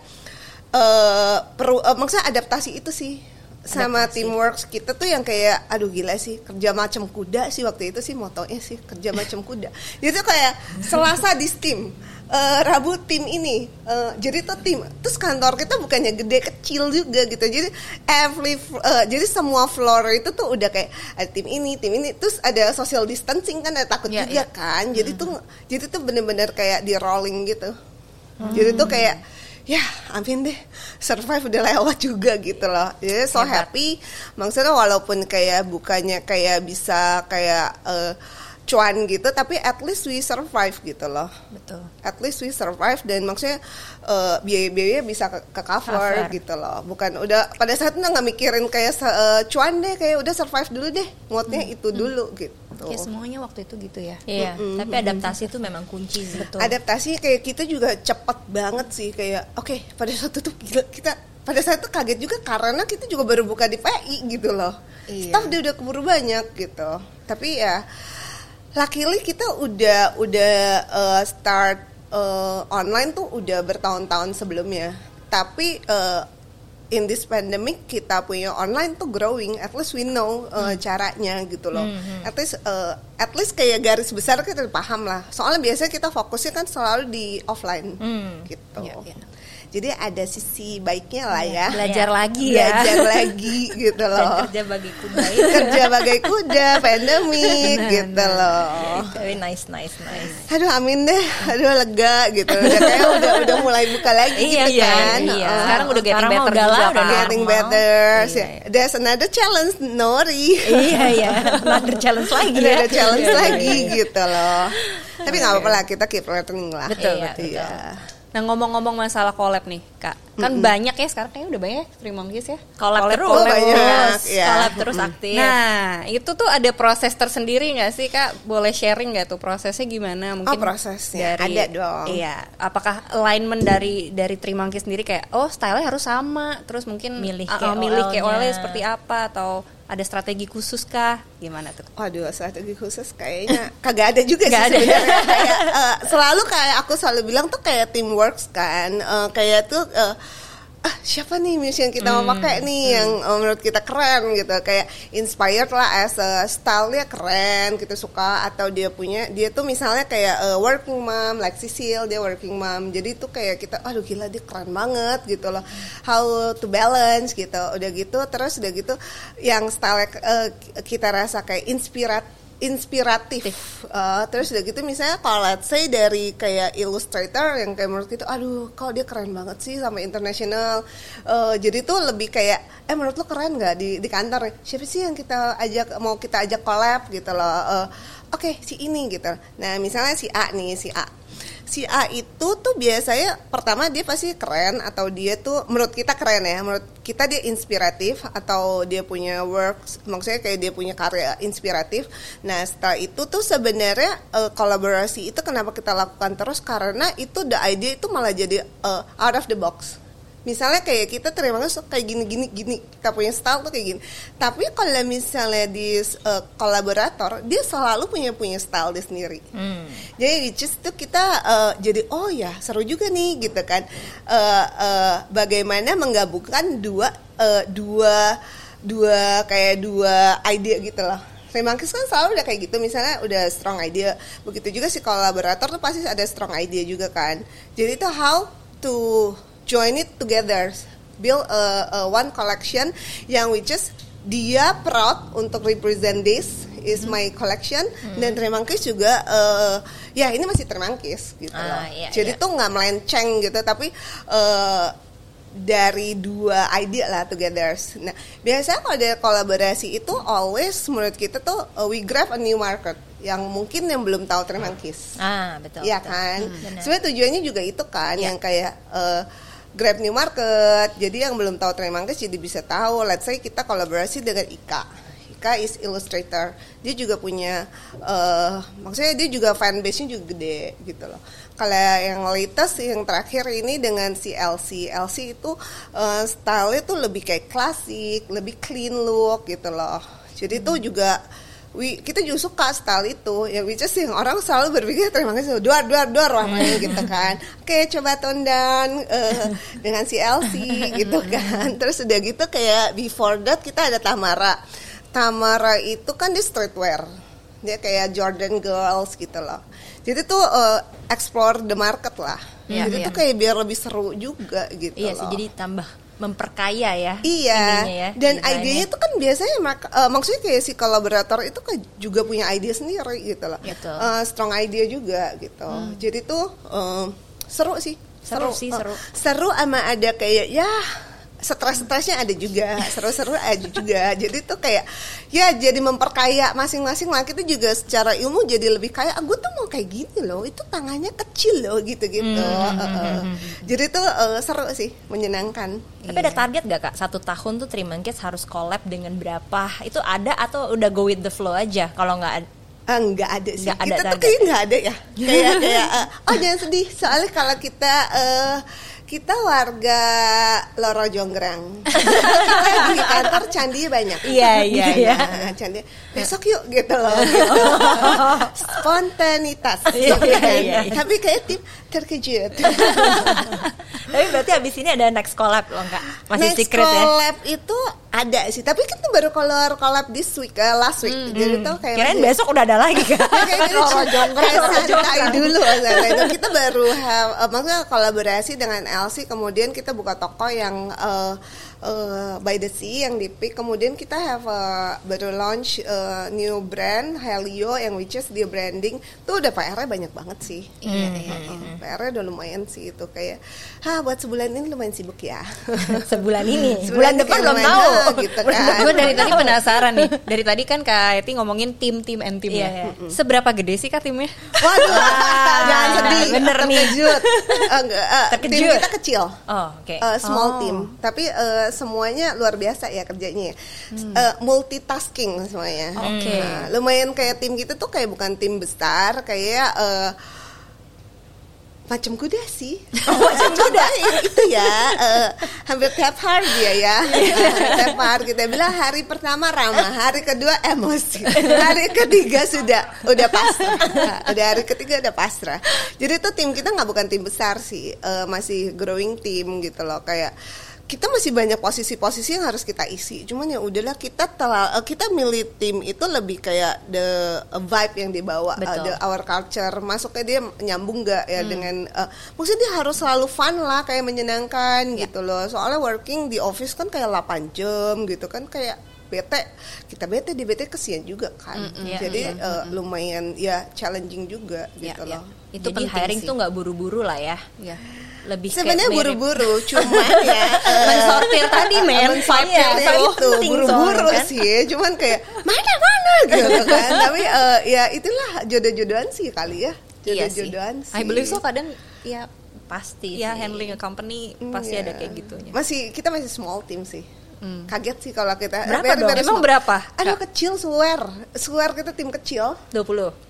maksudnya adaptasi itu sih. Sama teamwork kita tuh yang kayak aduh gila sih, kerja macam kuda sih waktu itu sih motonya sih, kerja macam kuda. Jadi tuh kayak Selasa di tim, Rabu tim ini, jadi tuh tim. Terus kantor kita bukannya gede kecil juga gitu. Jadi jadi semua floor itu tuh udah kayak ada tim ini, terus ada social distancing kan, ada takut juga kan. Jadi tuh bener-bener kayak di rolling gitu. Jadi tuh kayak ya amin deh, survive udah lewat juga gitu loh. Jadi so happy. Maksudnya walaupun kayak bukannya kayak bisa kayak cuan gitu, tapi at least we survive gitu loh. Betul. At least we survive dan maksudnya biaya-biaya bisa ke cover gitu loh. Bukan udah pada saat itu nggak mikirin kayak cuan deh, kayak udah survive dulu deh, moodnya itu dulu gitu. Ya semuanya waktu itu gitu ya. Iya, tapi adaptasi itu memang kunci sih. Betul. Adaptasi kayak kita juga cepet banget sih kayak oke, pada saat itu kita pada saat itu kaget juga karena kita juga baru buka di PI gitu loh. Staff udah keburu banyak gitu. Tapi ya luckily kita udah start online tuh udah bertahun-tahun sebelumnya. Tapi in this pandemic kita punya online tuh growing, at least we know caranya gitu loh. At least kayak garis besar kita paham lah. Soalnya biasanya kita fokusnya kan selalu di offline gitu. Jadi ada sisi baiknya lah ya. Belajar lagi ya. Belajar lagi gitu loh. Dan kerja bagi kuda. Kerja bagai kuda, pandemik gitu loh. Very nice. Aduh amin deh, aduh lega gitu. Udah mulai buka lagi gitu kan. Sekarang udah getting better udah juga kan. Getting better. There's another challenge, Nori. Iya. Another challenge lagi ya. Ada challenge lagi gitu loh. Tapi nggak apa-apa lah, kita keep learning lah. Betul. Nah ngomong-ngomong masalah collab nih Kak, kan banyak ya sekarang kayaknya udah banyak Three Monkeys ya. Collab terus, banyak, collab terus aktif. Nah itu tuh ada proses tersendiri nggak sih Kak? Boleh sharing nggak tuh prosesnya gimana? Mungkin prosesnya dari, ada dong. Iya, apakah alignment dari Three Monkeys sendiri kayak style-nya harus sama, terus mungkin milih KOL-nya seperti apa atau ada strategi khusus kah? Gimana tuh? Waduh, strategi khusus kayaknya kagak ada juga sih sebenarnya. Kayak selalu kayak aku selalu bilang tuh kayak teamwork kan. Kayak tuh siapa nih musician kita mau pakai nih yang menurut kita keren gitu, kayak inspired lah as a style-nya keren gitu, suka atau dia tuh misalnya kayak working mom like Cecil, dia working mom, jadi tuh kayak kita aduh gila dia keren banget gitu loh, how to balance gitu, udah gitu terus udah gitu yang style kita rasa kayak inspiratif. Terus udah gitu misalnya kalau let's say dari kayak illustrator yang kayak menurut kita aduh kok dia keren banget sih sama internasional, jadi tuh lebih kayak menurut lo keren nggak di kantor siapa sih yang kita ajak collab gitu loh. Oke, si ini gitu. Nah misalnya si A itu tuh biasanya pertama dia pasti keren atau dia tuh menurut kita keren ya, menurut kita dia inspiratif atau dia punya work, maksudnya kayak dia punya karya inspiratif. Nah setelah itu tuh sebenarnya kolaborasi itu kenapa kita lakukan terus karena itu the idea itu malah jadi out of the box. Misalnya kayak kita terima kasih kayak gini kita punya style tuh kayak gini. Tapi kalau misalnya di kolaborator dia selalu punya style dia sendiri. Jadi just tuh kita jadi oh ya seru juga nih gitu kan. Bagaimana menggabungkan dua ide gitu loh. Remangkis kan selalu udah kayak gitu, misalnya udah strong idea. Begitu juga si kolaborator tuh pasti ada strong idea juga kan. Jadi itu how to join it together, build a one collection yang which is dia proud untuk represent this is my collection dan Tremangkis juga ya ini masih Tremangkis gitu loh. Jadi tuh nggak melenceng gitu tapi dari dua ide lah together. Nah, biasanya kalau ada kolaborasi itu always menurut kita tuh we grab a new market yang mungkin yang belum tahu Trim Monkeys. Betul. Iya kan? Benar. Sebenarnya tujuannya juga itu kan yang kayak grab new market. Jadi yang belum tahu Trim Monkeys jadi bisa tahu. Let's say kita kolaborasi dengan Ika. Ika is illustrator. Dia juga punya maksudnya dia juga fanbase-nya juga gede gitu loh. Kalau yang latest yang terakhir ini dengan si LC itu style-nya tuh lebih kayak klasik, lebih clean look gitu loh. Jadi tuh juga kita juga suka style itu ya, which is yang orang selalu berpikir terima kasih duar warnanya gitu kan. Oke, coba tone down dengan si LC gitu kan. Terus udah gitu kayak before that kita ada Tamara itu kan di streetwear, dia kayak Jordan Girls gitu loh. Jadi tuh explore the market lah. Jadi tuh kayak biar lebih seru juga gitu loh. Iya sih, jadi tambah memperkaya ya. Iya. Ya, dan idenya tuh kan biasanya maksudnya kayak si kolaborator itu kan juga punya ide sendiri gitu loh. Strong idea juga gitu. Jadi tuh seru sih. Seru sama ada kayak ya stres-stresnya ada juga, seru-seru ada juga. Jadi tuh kayak ya jadi memperkaya masing-masing lah. Kita juga secara ilmu jadi lebih kaya. Gue tuh mau kayak gini loh, itu tangannya kecil loh gitu-gitu. Jadi tuh seru sih, menyenangkan. Tapi ada target gak Kak? 1 tahun tuh Trim Monkeys harus collab dengan berapa? Itu ada atau udah go with the flow aja? Kalau nggak ada? Nggak ada sih. Kita tuh kayak nggak ada ya. Kayak jangan sedih. Soalnya kalau kita warga Loro Jonggrang. Kita di kantor candi banyak. Iya. Candi. Besok yuk gitu loh. Gitu. Spontanitas. Iya. Tapi kayak tim terkejut. Tapi berarti abis ini ada next collab loh Kak? Masih next secret ya? Next collab itu ada sih. Tapi kan tuh baru collab this week, last week. Jadi tuh kayak kirain besok udah ada lagi Kak? Loro Jonggrang. Santai dulu. Kita baru maksudnya kolaborasi dengan LC, kemudian kita buka toko yang by the sea yang di Peak. Kemudian kita baru launch new brand Helio yang which is dia branding tuh udah PR-nya banyak banget sih. PR-nya udah lumayan sih itu kayak buat sebulan ini lumayan sibuk ya. Sebulan ini. Bulan depan belum tahu gitu kan. Gue dari tadi penasaran nih. Dari tadi kan Kak Eti ngomongin tim and tim ya. Seberapa gede sih Kak timnya? Waduh, jangan sedih. Bener nih. Tim kita kecil. Oke. Small team. Tapi semuanya luar biasa ya kerjanya. Multitasking semuanya. Oke. Lumayan kayak tim gitu tuh kayak bukan tim besar, kayak macam kuda sih. Macam kuda itu ya. Hampir tiap hari dia ya. Tiap hari kita bilang hari pertama ramah, hari kedua emosi, hari ketiga udah pasrah. Udah hari ketiga udah pasrah. Jadi tuh tim kita nggak bukan tim besar sih, masih growing team gitu loh. Kayak kita masih banyak posisi-posisi yang harus kita isi. Cuman ya udahlah kita milih tim itu lebih kayak the vibe yang dibawa, the our culture. Masuknya dia nyambung nggak ya dengan maksudnya dia harus selalu fun lah, kayak menyenangkan gitu loh. Soalnya working di office kan kayak 8 jam gitu kan, kayak kita bete kesian juga kan. Jadi lumayan ya challenging juga gitu loh. Itu jadi hiring tuh nggak buru-buru lah ya. Lebih sebenarnya buru-buru, cuman ya mensortir tadi vibe-nya itu buru-buru kan? Sih, cuman kayak mana gitu kan. Tapi ya itulah jodoh-jodohan sih kali ya. Jodoh-jodohan sih. I believe so, kadang ya pasti ya sih. Handling a company pasti ada kayak gitunya. Kita masih small team sih. Kaget sih kalau kita berapa dong? Emang berapa? Aduh kecil, swear kita tim kecil 20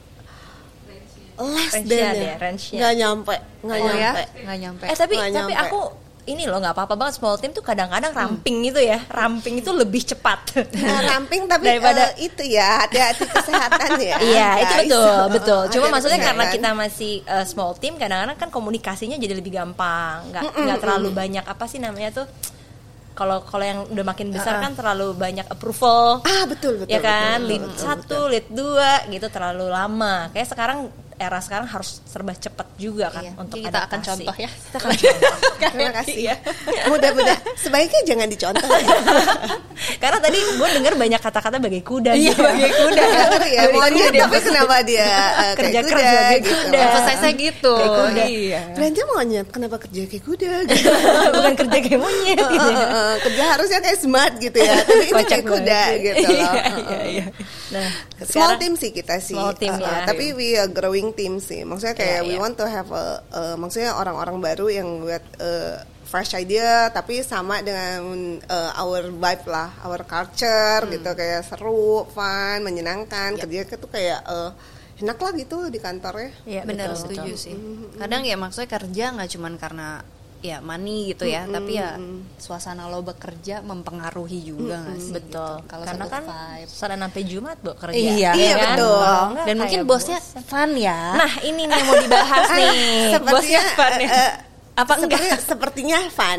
less than nggak nyampe. Tapi aku ini loh nggak apa-apa banget small team tuh kadang-kadang ramping gitu ya, ramping itu lebih cepat. Ramping tapi daripada itu ya hati-hati kesehatan ya. Iya itu betul. Cuma maksudnya karena kita masih small team, kadang-kadang kan komunikasinya jadi lebih gampang, nggak terlalu banyak apa sih namanya tuh. Kalau yang udah makin besar kan terlalu banyak approval. Betul. Ya kan, lead 1, lead 2 gitu terlalu lama. Kayak sekarang era sekarang harus serba cepat juga kan untuk kita akan adaptasi. contoh ya. Kita akan contoh. Terima kasih. Mudah-mudah sebaiknya jangan dicontoh. Karena tadi gue dengar banyak kata-kata bagai kuda. Iya, bagai kuda. Ya, monyet, tapi kenapa dia Kerja kayak keras bagai gitu. kuda. Emphasize-nya gitu. Kayak kuda. Iya. Belanja monyet, kenapa kerja kayak kuda gitu. Bukan kerja kayak monyet gitu. Kerja harusnya kayak smart gitu ya. Tapi ini Kocak kayak kuda banget. gitu loh. Iya. Nah, Small sekarang team sih kita sih. Small team ya. Tapi we are growing team sih. Maksudnya kayak Iya, we iya. want to have maksudnya orang-orang baru yang buat fresh idea tapi sama dengan our vibe lah, our culture gitu, kayak seru, fun, menyenangkan. Kerja itu kayak enak lah gitu di kantornya. Iya, Benar, betul, setuju betul. sih. Kadang ya maksudnya kerja nggak cuman karena ya money gitu ya, tapi ya suasana lo bekerja mempengaruhi juga nggak sih? Betul. Gitu. Kalau Karena satu kan vibe. Senin sampai Jumat bu kerja. Iya, Iya, kan? betul. Kalau enggak Dan mungkin kayak bosnya bosan. fun ya. Nah ini nih yang mau dibahas nih. Bosnya fun ya. Apa enggak? Sepertinya fun.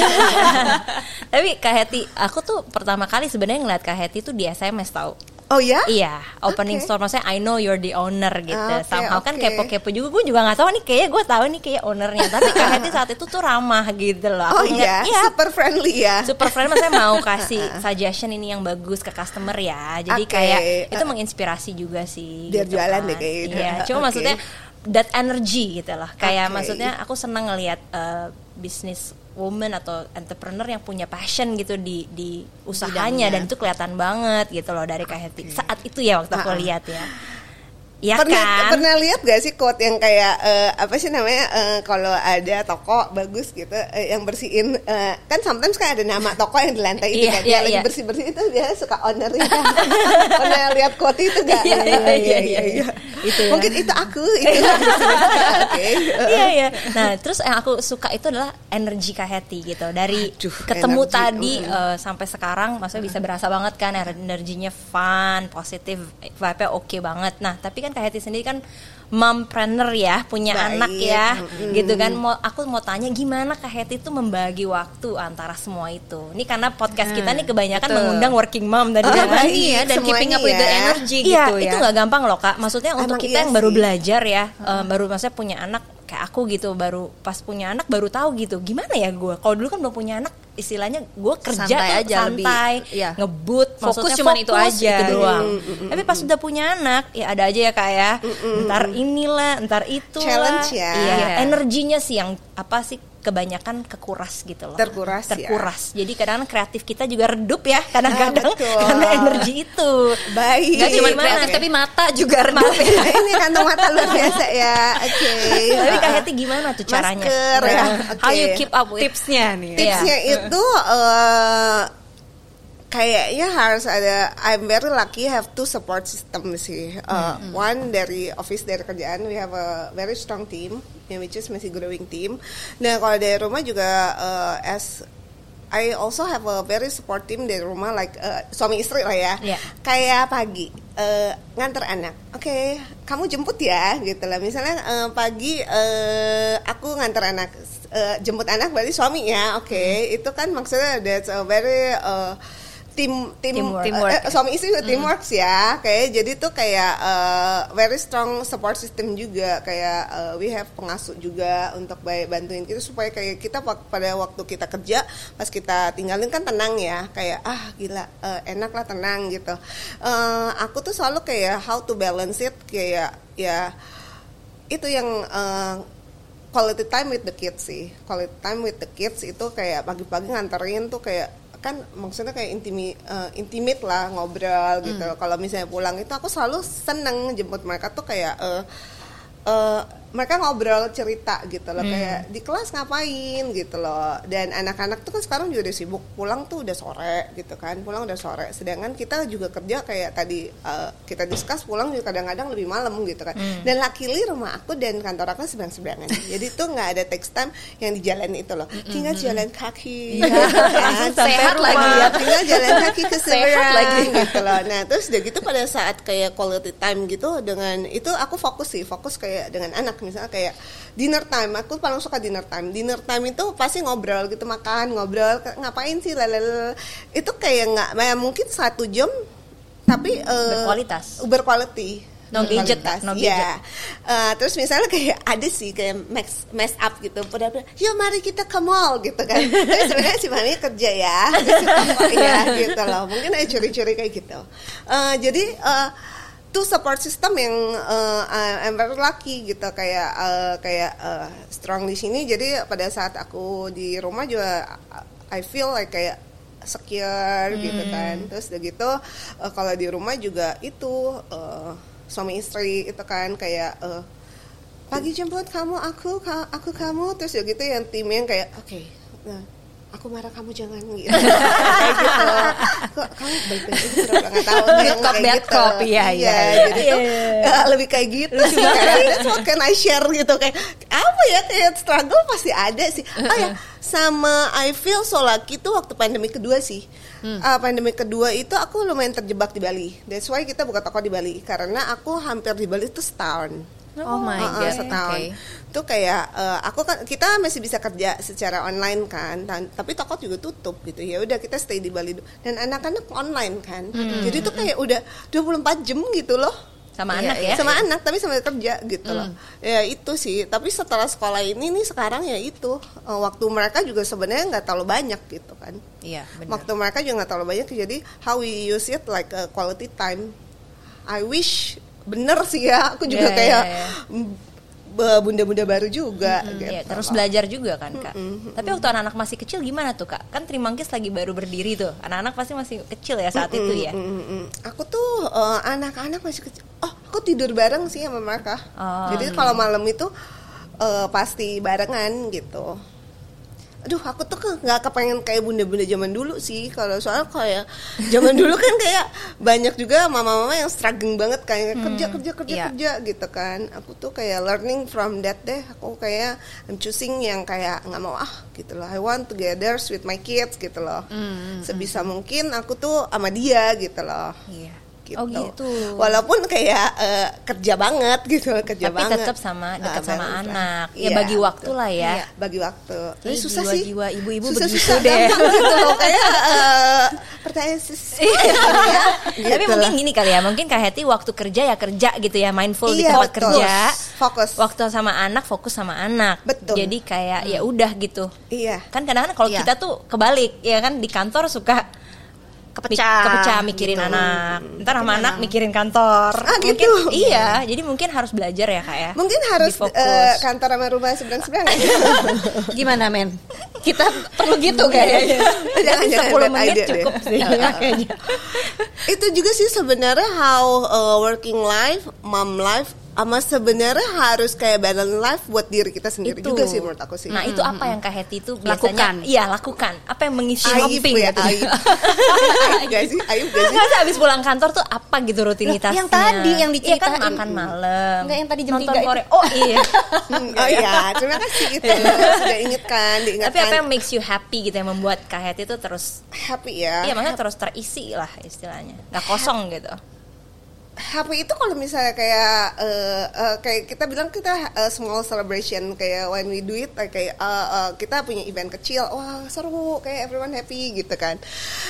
Tapi Kak Heti, aku tuh pertama kali sebenarnya ngeliat Kak Heti tuh di SMS tau. Oh ya? Iya, opening Oke. store maksudnya I know you're the owner gitu. Oke, Somehow kan oke. kepo-kepo juga, gue juga nggak tahu nih kayaknya gue tahu nih kayak ownernya. Tapi Kak Heti saat itu tuh ramah gitu loh. Oh Aku ngeliat, iya, super friendly ya. super friend, maksudnya mau kasih suggestion ini yang bagus ke customer ya. Jadi Oke, kayak itu menginspirasi juga sih. Biar gitu jualan kan. deh kayak gitu. Iya, cuma Oke. maksudnya that energy gitu loh. Kayak Oke. maksudnya aku senang ngelihat business woman atau entrepreneur yang punya passion gitu di usahanya, dan itu kelihatan banget gitu loh dari Kak Heti. Saat itu ya waktu aku lihat ya. Iya kan? Pernah lihat gak sih quote yang kayak apa sih namanya kalau ada toko bagus gitu yang bersihin kan sometimes kan ada nama toko yang di lantai itu Iya, kan iya, yang lagi iya. bersih itu dia suka ownernya. Pernah lihat quote itu gak? Iya. Itu ya. Mungkin itu aku itu. Oke. Iya. Nah, terus yang aku suka itu adalah energi Kak Heti gitu. Dari Aduh, ketemu energi, tadi sampai sekarang, maksudnya bisa berasa banget kan energinya fun, positif, vibe-nya oke banget. Nah, tapi kan Kak Heti sendiri kan mompreneur ya, punya Baik. anak ya, gitu kan. Aku mau tanya gimana Kak Heti tuh membagi waktu antara semua itu. Ini karena podcast kita nih kebanyakan betul. mengundang working mom tadi Oh, kan. baik. Iya, dan keeping up Semuanya with the ya. energy Iya, gitu ya. itu nggak gampang loh Kak. Maksudnya untuk Emang kita iya yang baru sih. belajar ya, baru maksudnya punya anak kayak aku gitu, baru pas punya anak baru tahu gitu. Gimana ya gue? Kalau dulu kan belum punya anak, istilahnya gue kerja Santai tuh aja, santai, lebih, iya. ngebut, Fokus maksudnya cuman itu aja. itu doang. Tapi pas udah punya anak, ya ada aja ya Kak ya. Ntar inilah, ntar itulah. Challenge ya. Iya, Iya. energinya sih yang apa sih? Kebanyakan kekuras gitu loh. Terkuras ya. Jadi kadang-kadang kreatif kita juga redup ya kadang-kadang betul. karena energi itu. Baik. Gak cuma Gimana? kreatif tapi mata juga redup ya. Nah, ini kantong mata luar biasa ya. Oke. Tapi Kak Heti gimana tuh caranya? Masker ya. How Oke. you keep up with Tipsnya nih. Tipsnya itu kayaknya harus ada. I'm very lucky have two support system sih. One dari office, dari kerjaan we have a very strong team, which is masih growing team. Nah kalau dari rumah juga as I also have a very support team dari rumah, like suami istri lah ya. Yeah. Kayak pagi nganter anak, oke, kamu jemput ya, gitu lah. Misalnya pagi aku nganter anak, jemput anak berarti suami ya, oke. Itu kan maksudnya that's a very Teamwork. suami istri juga teamwork ya, kayak jadi tuh kayak very strong support system juga, kayak we have pengasuh juga untuk bantuin kita supaya kayak kita pada waktu kita kerja pas kita tinggalin kan tenang ya, kayak gila enak lah, tenang gitu. Aku tuh selalu kayak how to balance it, kayak ya itu yang quality time with the kids sih. Quality time with the kids itu kayak pagi-pagi nganterin tuh kayak kan maksudnya kayak intimate lah, ngobrol gitu. Kalau misalnya pulang itu aku selalu seneng jemput mereka tuh kayak mereka ngobrol cerita gitu loh, kayak di kelas ngapain gitu loh. Dan anak-anak tuh kan sekarang juga udah sibuk, pulang tuh udah sore gitu kan, pulang udah sore. Sedangkan kita juga kerja kayak tadi kita discuss, pulang juga kadang-kadang lebih malam gitu kan. Dan luckily rumah aku dan kantor aku seberang-seberangan. Jadi tuh nggak ada text time yang di jalan itu loh. Tinggal jalan kaki, kan? Sehat lagi ya, tinggal jalan kaki ke Sehat seberang lagi. gitu loh. Nah terus udah gitu pada saat kayak quality time gitu, dengan itu aku fokus kayak dengan anak. Misalnya kayak dinner time, aku paling suka dinner time. Dinner time itu pasti ngobrol gitu, makan, ngobrol, ngapain sih, lalala. Itu kayak nggak, mungkin 1 jam, tapi berkualitas. berquality. No gadget, kualitas. no Iya. Terus misalnya kayak ada sih kayak mess up gitu, pada yuk mari kita ke mall gitu kan. Tapi sebenarnya si mami kerja ya, ya gitu loh. Mungkin ada curi-curi kayak gitu. Jadi tuh support system yang I'm very lucky gitu, kayak strong di sini. Jadi pada saat aku di rumah juga I feel like kayak secure gitu kan. Terus udah gitu kalau di rumah juga itu suami istri itu kan kayak pagi jemput kamu aku kamu, terus ya gitu yang tim yang kayak oke, aku marah kamu jangan gitu. Kayak gitu. Kok kamu baik-baik aja berapa nggak tahu yang Cop, kayak bad gitu. cop, iya. Jadi tuh lebih kayak gitu sih. Kayak that's what can I share gitu, kayak apa ya, kayak struggle pasti ada sih. Oh ya, sama I feel so lucky tuh waktu pandemi kedua sih. Pandemi kedua itu aku lumayan terjebak di Bali. That's why kita buka toko di Bali, karena aku hampir di Bali itu setahun. Oh my god. Setahun. Okay. Tuh kayak aku kan, kita masih bisa kerja secara online kan, tapi toko juga tutup gitu. Ya udah kita stay di Bali dan anak-anak online kan. Jadi tuh kayak udah 24 jam gitu loh. Sama anak ya? Sama anak tapi sambil kerja gitu loh. Ya itu sih. Tapi setelah sekolah ini nih sekarang ya itu waktu mereka juga sebenarnya nggak terlalu banyak gitu kan. Iya, benar. Waktu mereka juga nggak terlalu banyak, jadi how we use it like a quality time. I wish bener sih ya. Aku juga kayak bunda-bunda baru juga gitu. Ya, terus belajar juga kan Kak. Tapi waktu anak-anak masih kecil gimana tuh Kak? Kan Trimangkis lagi baru berdiri tuh. Anak-anak pasti masih kecil ya saat itu ya. Aku tuh anak-anak masih kecil. Oh, aku tidur bareng sih sama mereka. Jadi kalau malam itu pasti barengan gitu. Aduh, aku tuh nggak kepengen kayak bunda-bunda zaman dulu sih. Kalau soal kayak zaman dulu kan kayak banyak juga mama-mama yang struggling banget kayak kerja gitu kan. Aku tuh kayak learning from that deh. Aku kayak I'm choosing yang kayak nggak mau gitu loh. I want together with my kids gitu loh. Sebisa mungkin aku tuh sama dia gitu loh. Iya. Gitu. Oh gitu. Walaupun kayak kerja banget gitu, kerja tapi banget. tetap sama dekat sama anak. Iya, Ya bagi waktu betul. lah ya. Iya, bagi waktu. Tapi Ini susah sih. jiwa-jiwa ibu-ibu susah, begitu susah, deh. gampang gitu loh, kayak pertanyaan ya. Gitu Tapi mungkin lah. gini kali ya, mungkin Kak Hetty waktu kerja ya kerja gitu ya, mindful di Iya, tempat betul. kerja. Fokus. Waktu sama anak fokus sama anak. Betul. Jadi kayak ya udah gitu. Iya. Kan kadang-kadang kalau Iya. kita tuh kebalik, ya kan di kantor suka kepecah mikirin anak. Ntar sama anak mikirin kantor. gitu. Mungkin, iya, jadi mungkin harus belajar ya Kak ya. Mungkin harus Difokus. kantor sama rumah seberang-seberang. Gimana men? Kita perlu gitu kayaknya. Jangan 10 menit idea cukup deh. sih kayaknya. Itu juga sih sebenarnya how working life, mom life, sama sebenarnya harus kayak balance life buat diri kita sendiri Itu. juga sih menurut aku sih. Nah itu apa yang Kak Hetty itu Lakukan. biasanya Iya lakukan. Apa yang mengisi Aib hopping ya, gitu. aib. Aib gak sih? Aib gak sih? Nggak sih abis pulang kantor tuh apa gitu rutinitasnya? Yang tadi yang Iya diceritain. kan makan malam. Enggak, yang tadi jam nonton 3 itu. Korea. Oh iya. Oh iya, terima kasih itu sudah diingatkan. Tapi apa yang makes you happy gitu yang membuat Kak Hetty itu terus happy ya? iya maksudnya terus terisi lah istilahnya. Nggak kosong gitu. Happy itu kalau misalnya kayak kita bilang kita small celebration, kayak when we do it kayak kita punya event kecil, wah seru, kayak everyone happy gitu kan.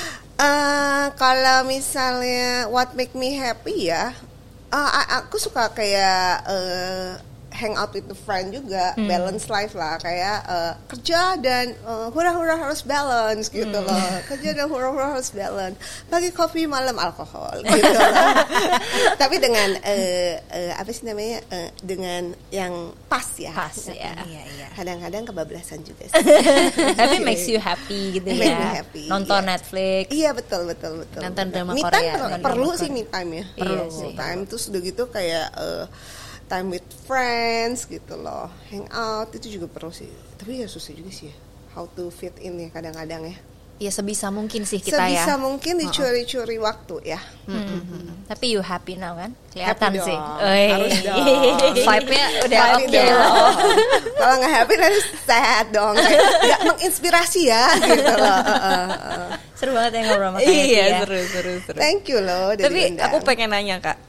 Kalau misalnya what make me happy ya, aku suka kayak hang out with the friend juga, balance life lah, kayak kerja dan hura-hura harus balance gitu loh, kerja dan hura-hura harus balance, pagi kopi malam alkohol gitu loh. Tapi dengan apa sih namanya, dengan yang pas ya. Pas ya. Iya. Kadang-kadang kebablasan juga sih. Tapi makes you happy gitu Make ya. me happy, Nonton iya. Netflix. Iya betul. Nonton drama Me Korea. time Nonton perlu drama sih Korea. me time ya. Iya Perlu sih. me time, terus udah gitu kayak time with friends gitu loh, hang out itu juga perlu sih. Tapi ya susah juga sih ya, how to fit in ya kadang-kadang ya. Ya sebisa mungkin sih kita Sebisa ya. mungkin dicuri-curi waktu ya. Tapi you happy now kan? Kelihatan Happy sih. dong. Oi. Harus dong. Vibe-nya udah Happy oke dong. loh. Kalau nggak happy nanti sad dong. Kayak nggak menginspirasi ya gitu loh. Seru banget ya ngobrol sama Kak Hetty Iya, ya. seru. Thank you loh udah Tapi diundang. aku pengen nanya Kak,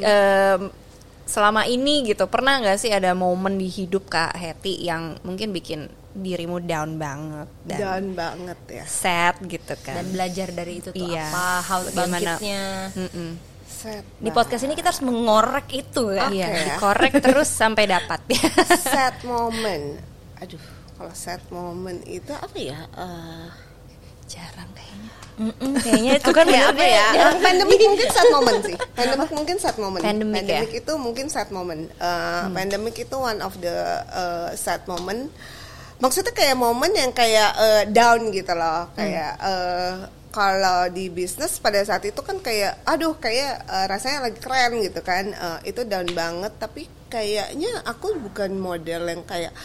selama ini gitu pernah nggak sih ada momen di hidup Kak Hetty yang mungkin bikin dirimu down banget dan down banget ya. sad gitu kan? Dan belajar dari itu tuh Iya. apa? How Bagaimana? bangkitnya. Di podcast ini kita harus mengorek itu ya. Oke. Iya, Ya. dikorek terus sampai dapat. Sad moment. Aduh, kalau sad moment itu apa ya? Jarang kayaknya. Kayaknya itu kan Ya, bener apa ya? Pandemic mungkin sad moment sih. Pandemic mungkin sad moment. Pandemic ya? itu mungkin sad moment. Pandemic itu one of the sad moment. Maksudnya kayak momen yang kayak down gitu loh. Kayak kalau di bisnis pada saat itu kan kayak aduh kayak rasanya lagi keren gitu kan. Itu down banget, tapi kayaknya aku bukan model yang kayak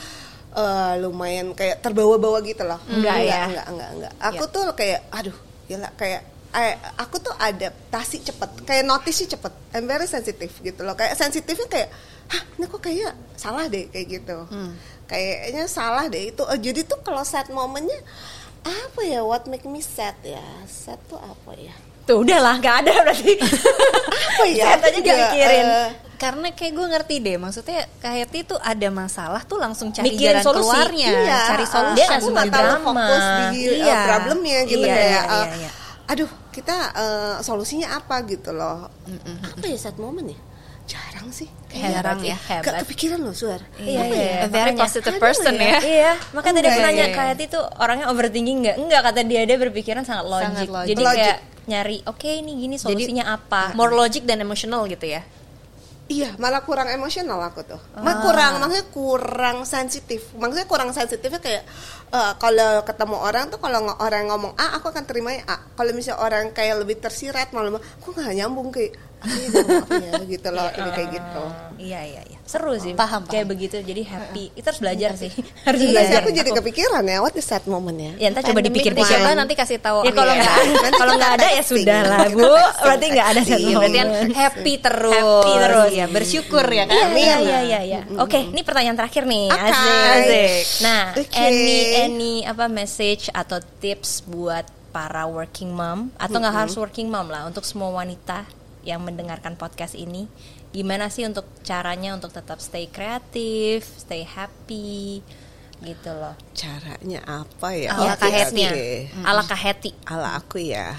lumayan kayak terbawa-bawa gitu loh. Enggak ya? Enggak. Aku tuh kayak aduh, gila kayak aku tuh adaptasi cepet, kayak notice cepet. I'm very sensitive gitu loh. Kayak sensitifnya kayak, hah, ini kok kayak salah deh kayak gitu. Kayaknya salah deh itu. Jadi tuh kalau sad momennya apa ya? What make me sad ya? Sad tuh apa ya? Tuh udahlah, nggak ada berarti. Apa ya? Sad aja nggak mikirin. Karena kayak gue ngerti deh, maksudnya Kak Heti tuh ada masalah tuh langsung cari Mikirin jalan solusi. keluarnya, Iya, cari solusi. Dia aku langsung nggak terlalu drama. fokus di Iya. problemnya gitu Iya, kayak iya. aduh kita solusinya apa gitu loh. Apa ya sad moment ya? Jarang sih. Jarang ya. Gak kepikiran loh Suar. Iya. A very makanya. positive Aduh, person ya. ya. Iya, makanya tadi aku Iya, nanya iya. Kak Heti tuh orangnya overthinking nggak? Enggak, kata dia berpikiran sangat logik. Sangat logik. Jadi Logik. kayak nyari, oke ini gini solusinya apa? More logic dan emotional gitu ya. Iya, malah kurang emosional aku tuh. Maksudnya kurang sensitif. Maksudnya kurang sensitifnya kayak kalau ketemu orang tuh kalau orang ngomong A, aku akan terimanya A. Kalau misalnya orang kayak lebih tersirat malah aku nggak nyambung kayak apa ya gitu loh, ini kayak gitu. Iya. Seru sih. Paham. Kayak begitu, jadi happy. Itu harus belajar sih. Harus Iya, belajar. aku jadi kepikiran ya, what is that moment ya? Ya entar coba Pandemic dipikir deh, deh. siapa nanti kasih tahu. Ya kalau Iya. nggak Nanti kalau kita nggak ada ya texting. sudah lah Kita Bu. texting, Berarti nggak ada texting. satu Berarti kan momen. happy terus. Happy terus. Ya, bersyukur ya kan. Iya. Oke, ini pertanyaan terakhir nih. Oke. Asik. Nah, Oke. any apa message atau tips buat para working mom atau nggak harus working mom lah, untuk semua wanita yang mendengarkan podcast ini, gimana sih untuk caranya untuk tetap stay kreatif, stay happy gitu loh. Caranya apa ya? Ala Oke, Kak Heti. oke. Ala Kak Heti. Ala aku ya.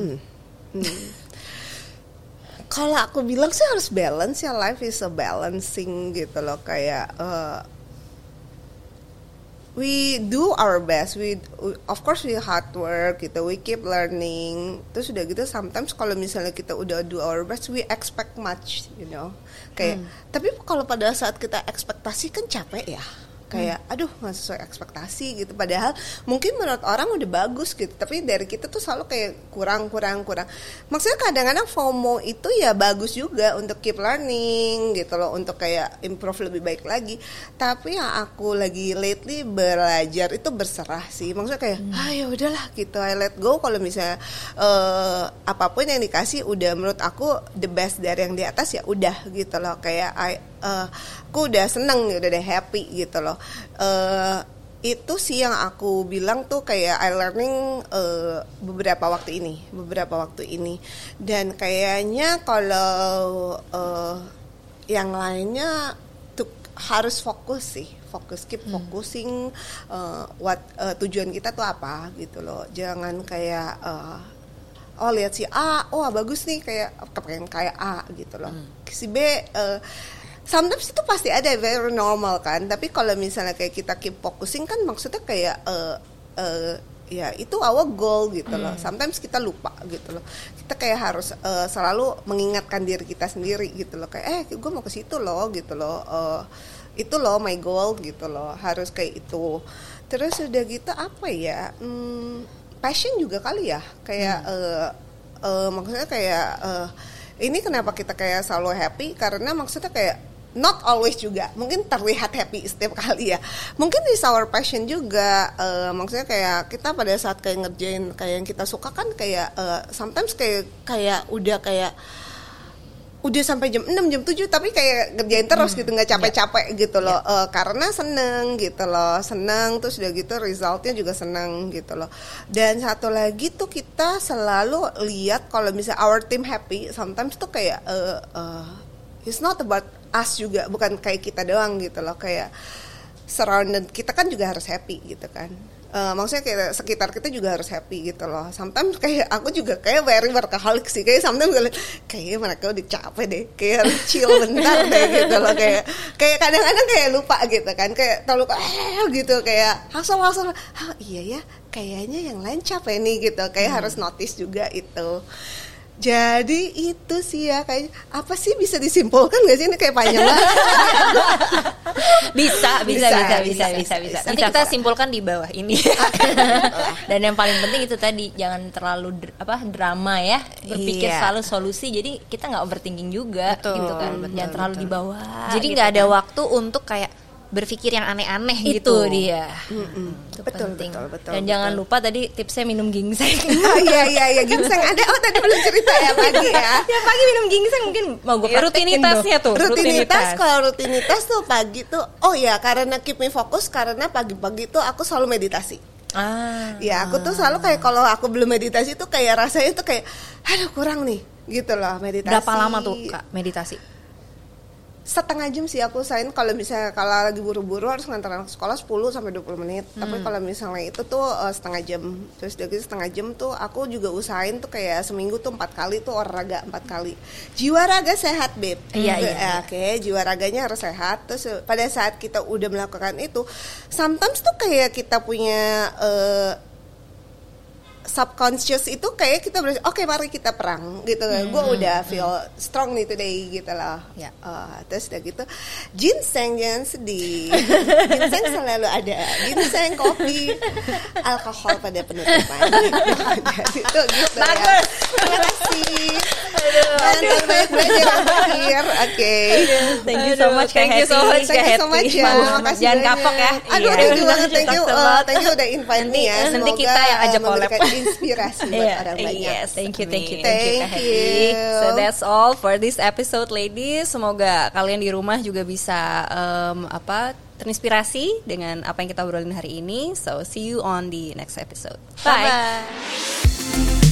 Kalau aku bilang sih harus balance ya, life is a balancing gitu loh, kayak we do our best, we of course we hard work gitu, we keep learning. Terus udah gitu sometimes kalau misalnya kita udah do our best, we expect much, you know. Kayak tapi kalau pada saat kita ekspektasi kan capek ya. Kayak aduh nggak sesuai ekspektasi gitu, padahal mungkin menurut orang udah bagus gitu, tapi dari kita tuh selalu kayak kurang. Maksudnya kadang-kadang FOMO itu ya bagus juga untuk keep learning gitu loh, untuk kayak improve lebih baik lagi. Tapi yang aku lagi lately belajar itu berserah sih, maksudnya kayak ya udahlah gitu, I let go. Kalau misalnya apapun yang dikasih udah menurut aku the best dari yang di atas ya udah gitu loh, kayak aku udah seneng, udah happy gitu loh. Itu sih yang aku bilang tuh kayak I learning beberapa waktu ini, dan kayaknya kalau yang lainnya tuh harus fokus keep focusing tujuan kita tuh apa gitu loh. Jangan kayak lihat si A, bagus nih, kayak kepengen kayak A gitu loh. Si B sometimes itu pasti ada, very normal kan. Tapi kalau misalnya kayak kita keep focusing kan maksudnya kayak ya itu our goal gitu loh. Sometimes kita lupa gitu loh. Kita kayak harus selalu mengingatkan diri kita sendiri gitu loh, kayak gue mau ke situ loh gitu loh. Itu loh my goal gitu loh. Harus kayak itu. Terus udah gitu apa ya? Passion juga kali ya. Kayak maksudnya kayak ini kenapa kita kayak selalu happy, karena maksudnya kayak not always juga, mungkin terlihat happy setiap kali ya, mungkin is our passion juga. Maksudnya kayak kita pada saat kayak ngerjain kayak yang kita suka kan kayak sometimes kayak udah sampai jam 6, jam 7 tapi kayak ngerjain terus gitu, nggak capek-capek gitu loh. Karena seneng gitu loh, seneng, terus udah gitu resultnya juga seneng gitu loh. Dan satu lagi tuh kita selalu lihat kalau misalnya our team happy, sometimes tuh kayak it's not about us juga, bukan kayak kita doang gitu loh, kayak surrounded kita kan juga harus happy gitu kan. Maksudnya kayak sekitar kita juga harus happy gitu loh. Sometimes kayak aku juga kayak very workaholic sih. Kayak sometimes gue liat, kayaknya mereka udah capek deh. Kayak harus chill bentar deh gitu loh. Kayak kadang-kadang kayak lupa gitu kan. Kayak terlalu gitu kayak hustle. Iya ya, kayaknya yang lain capek nih gitu. Kayak harus notice juga itu. Jadi itu sih ya, kayak apa sih bisa disimpulkan gak sih, ini kayak panjang banget. Bisa. Nanti kita simpulkan di bawah ini. Dan yang paling penting itu tadi, jangan terlalu drama ya, berpikir selalu solusi. Jadi kita nggak overthinking juga, gitu kan. Jangan terlalu di bawah. Jadi nggak ada waktu untuk kayak berpikir yang aneh-aneh itu gitu. Dia. Itu Betul. Dan jangan lupa tadi tipsnya minum ginseng. Iya ginseng ada. Oh tadi belum cerita ya pagi ya. Ya pagi minum ginseng mungkin mau gue praktekin rutinitasnya tuh. Rutinitas tuh pagi tuh. Oh ya, karena keep me fokus, karena pagi-pagi tuh aku selalu meditasi. Ya aku tuh selalu kayak kalau aku belum meditasi tuh kayak rasanya tuh kayak aduh kurang nih gitu loh meditasi. Berapa lama tuh Kak meditasi? Setengah jam sih aku usahain. Kalau misalnya kalau lagi buru-buru harus ngantar anak sekolah 10 sampai 20 menit. Tapi kalau misalnya itu tuh setengah jam. Terus dari setengah jam tuh aku juga usahain tuh kayak seminggu tuh 4 kali tuh olahraga 4 kali. Jiwa raga sehat, Beb. Iya. Oke, jiwa raganya harus sehat. Terus pada saat kita udah melakukan itu, sometimes tuh kayak kita punya subconscious itu kayak kita berarti oke, mari kita perang gitu kan. Gue udah feel strong nih today gitu loh. Ya. Terus udah gitu ginseng, jangan sedih. Ginseng selalu ada. Ginseng, kopi, alkohol pada penutupan. Jadi itu gitu ya. Terima kasih. Aduh. Banyak belajar akhir. Oke. Thank you so much Kak Hetty. Thank you so much ya. Makasih Jangan banyak. kapok ya. Aduh, Iya. thank you banget. Thank you udah invite me ya. Nanti Semoga, kita yang ajak collab. memberikan inspirasi buat orang banyak. Yes, thank you Kak Thank Hetty. you. So that's all for this episode, ladies. Semoga kalian di rumah juga bisa terinspirasi dengan apa yang kita obrolin hari ini. So see you on the next episode. Bye. Bye.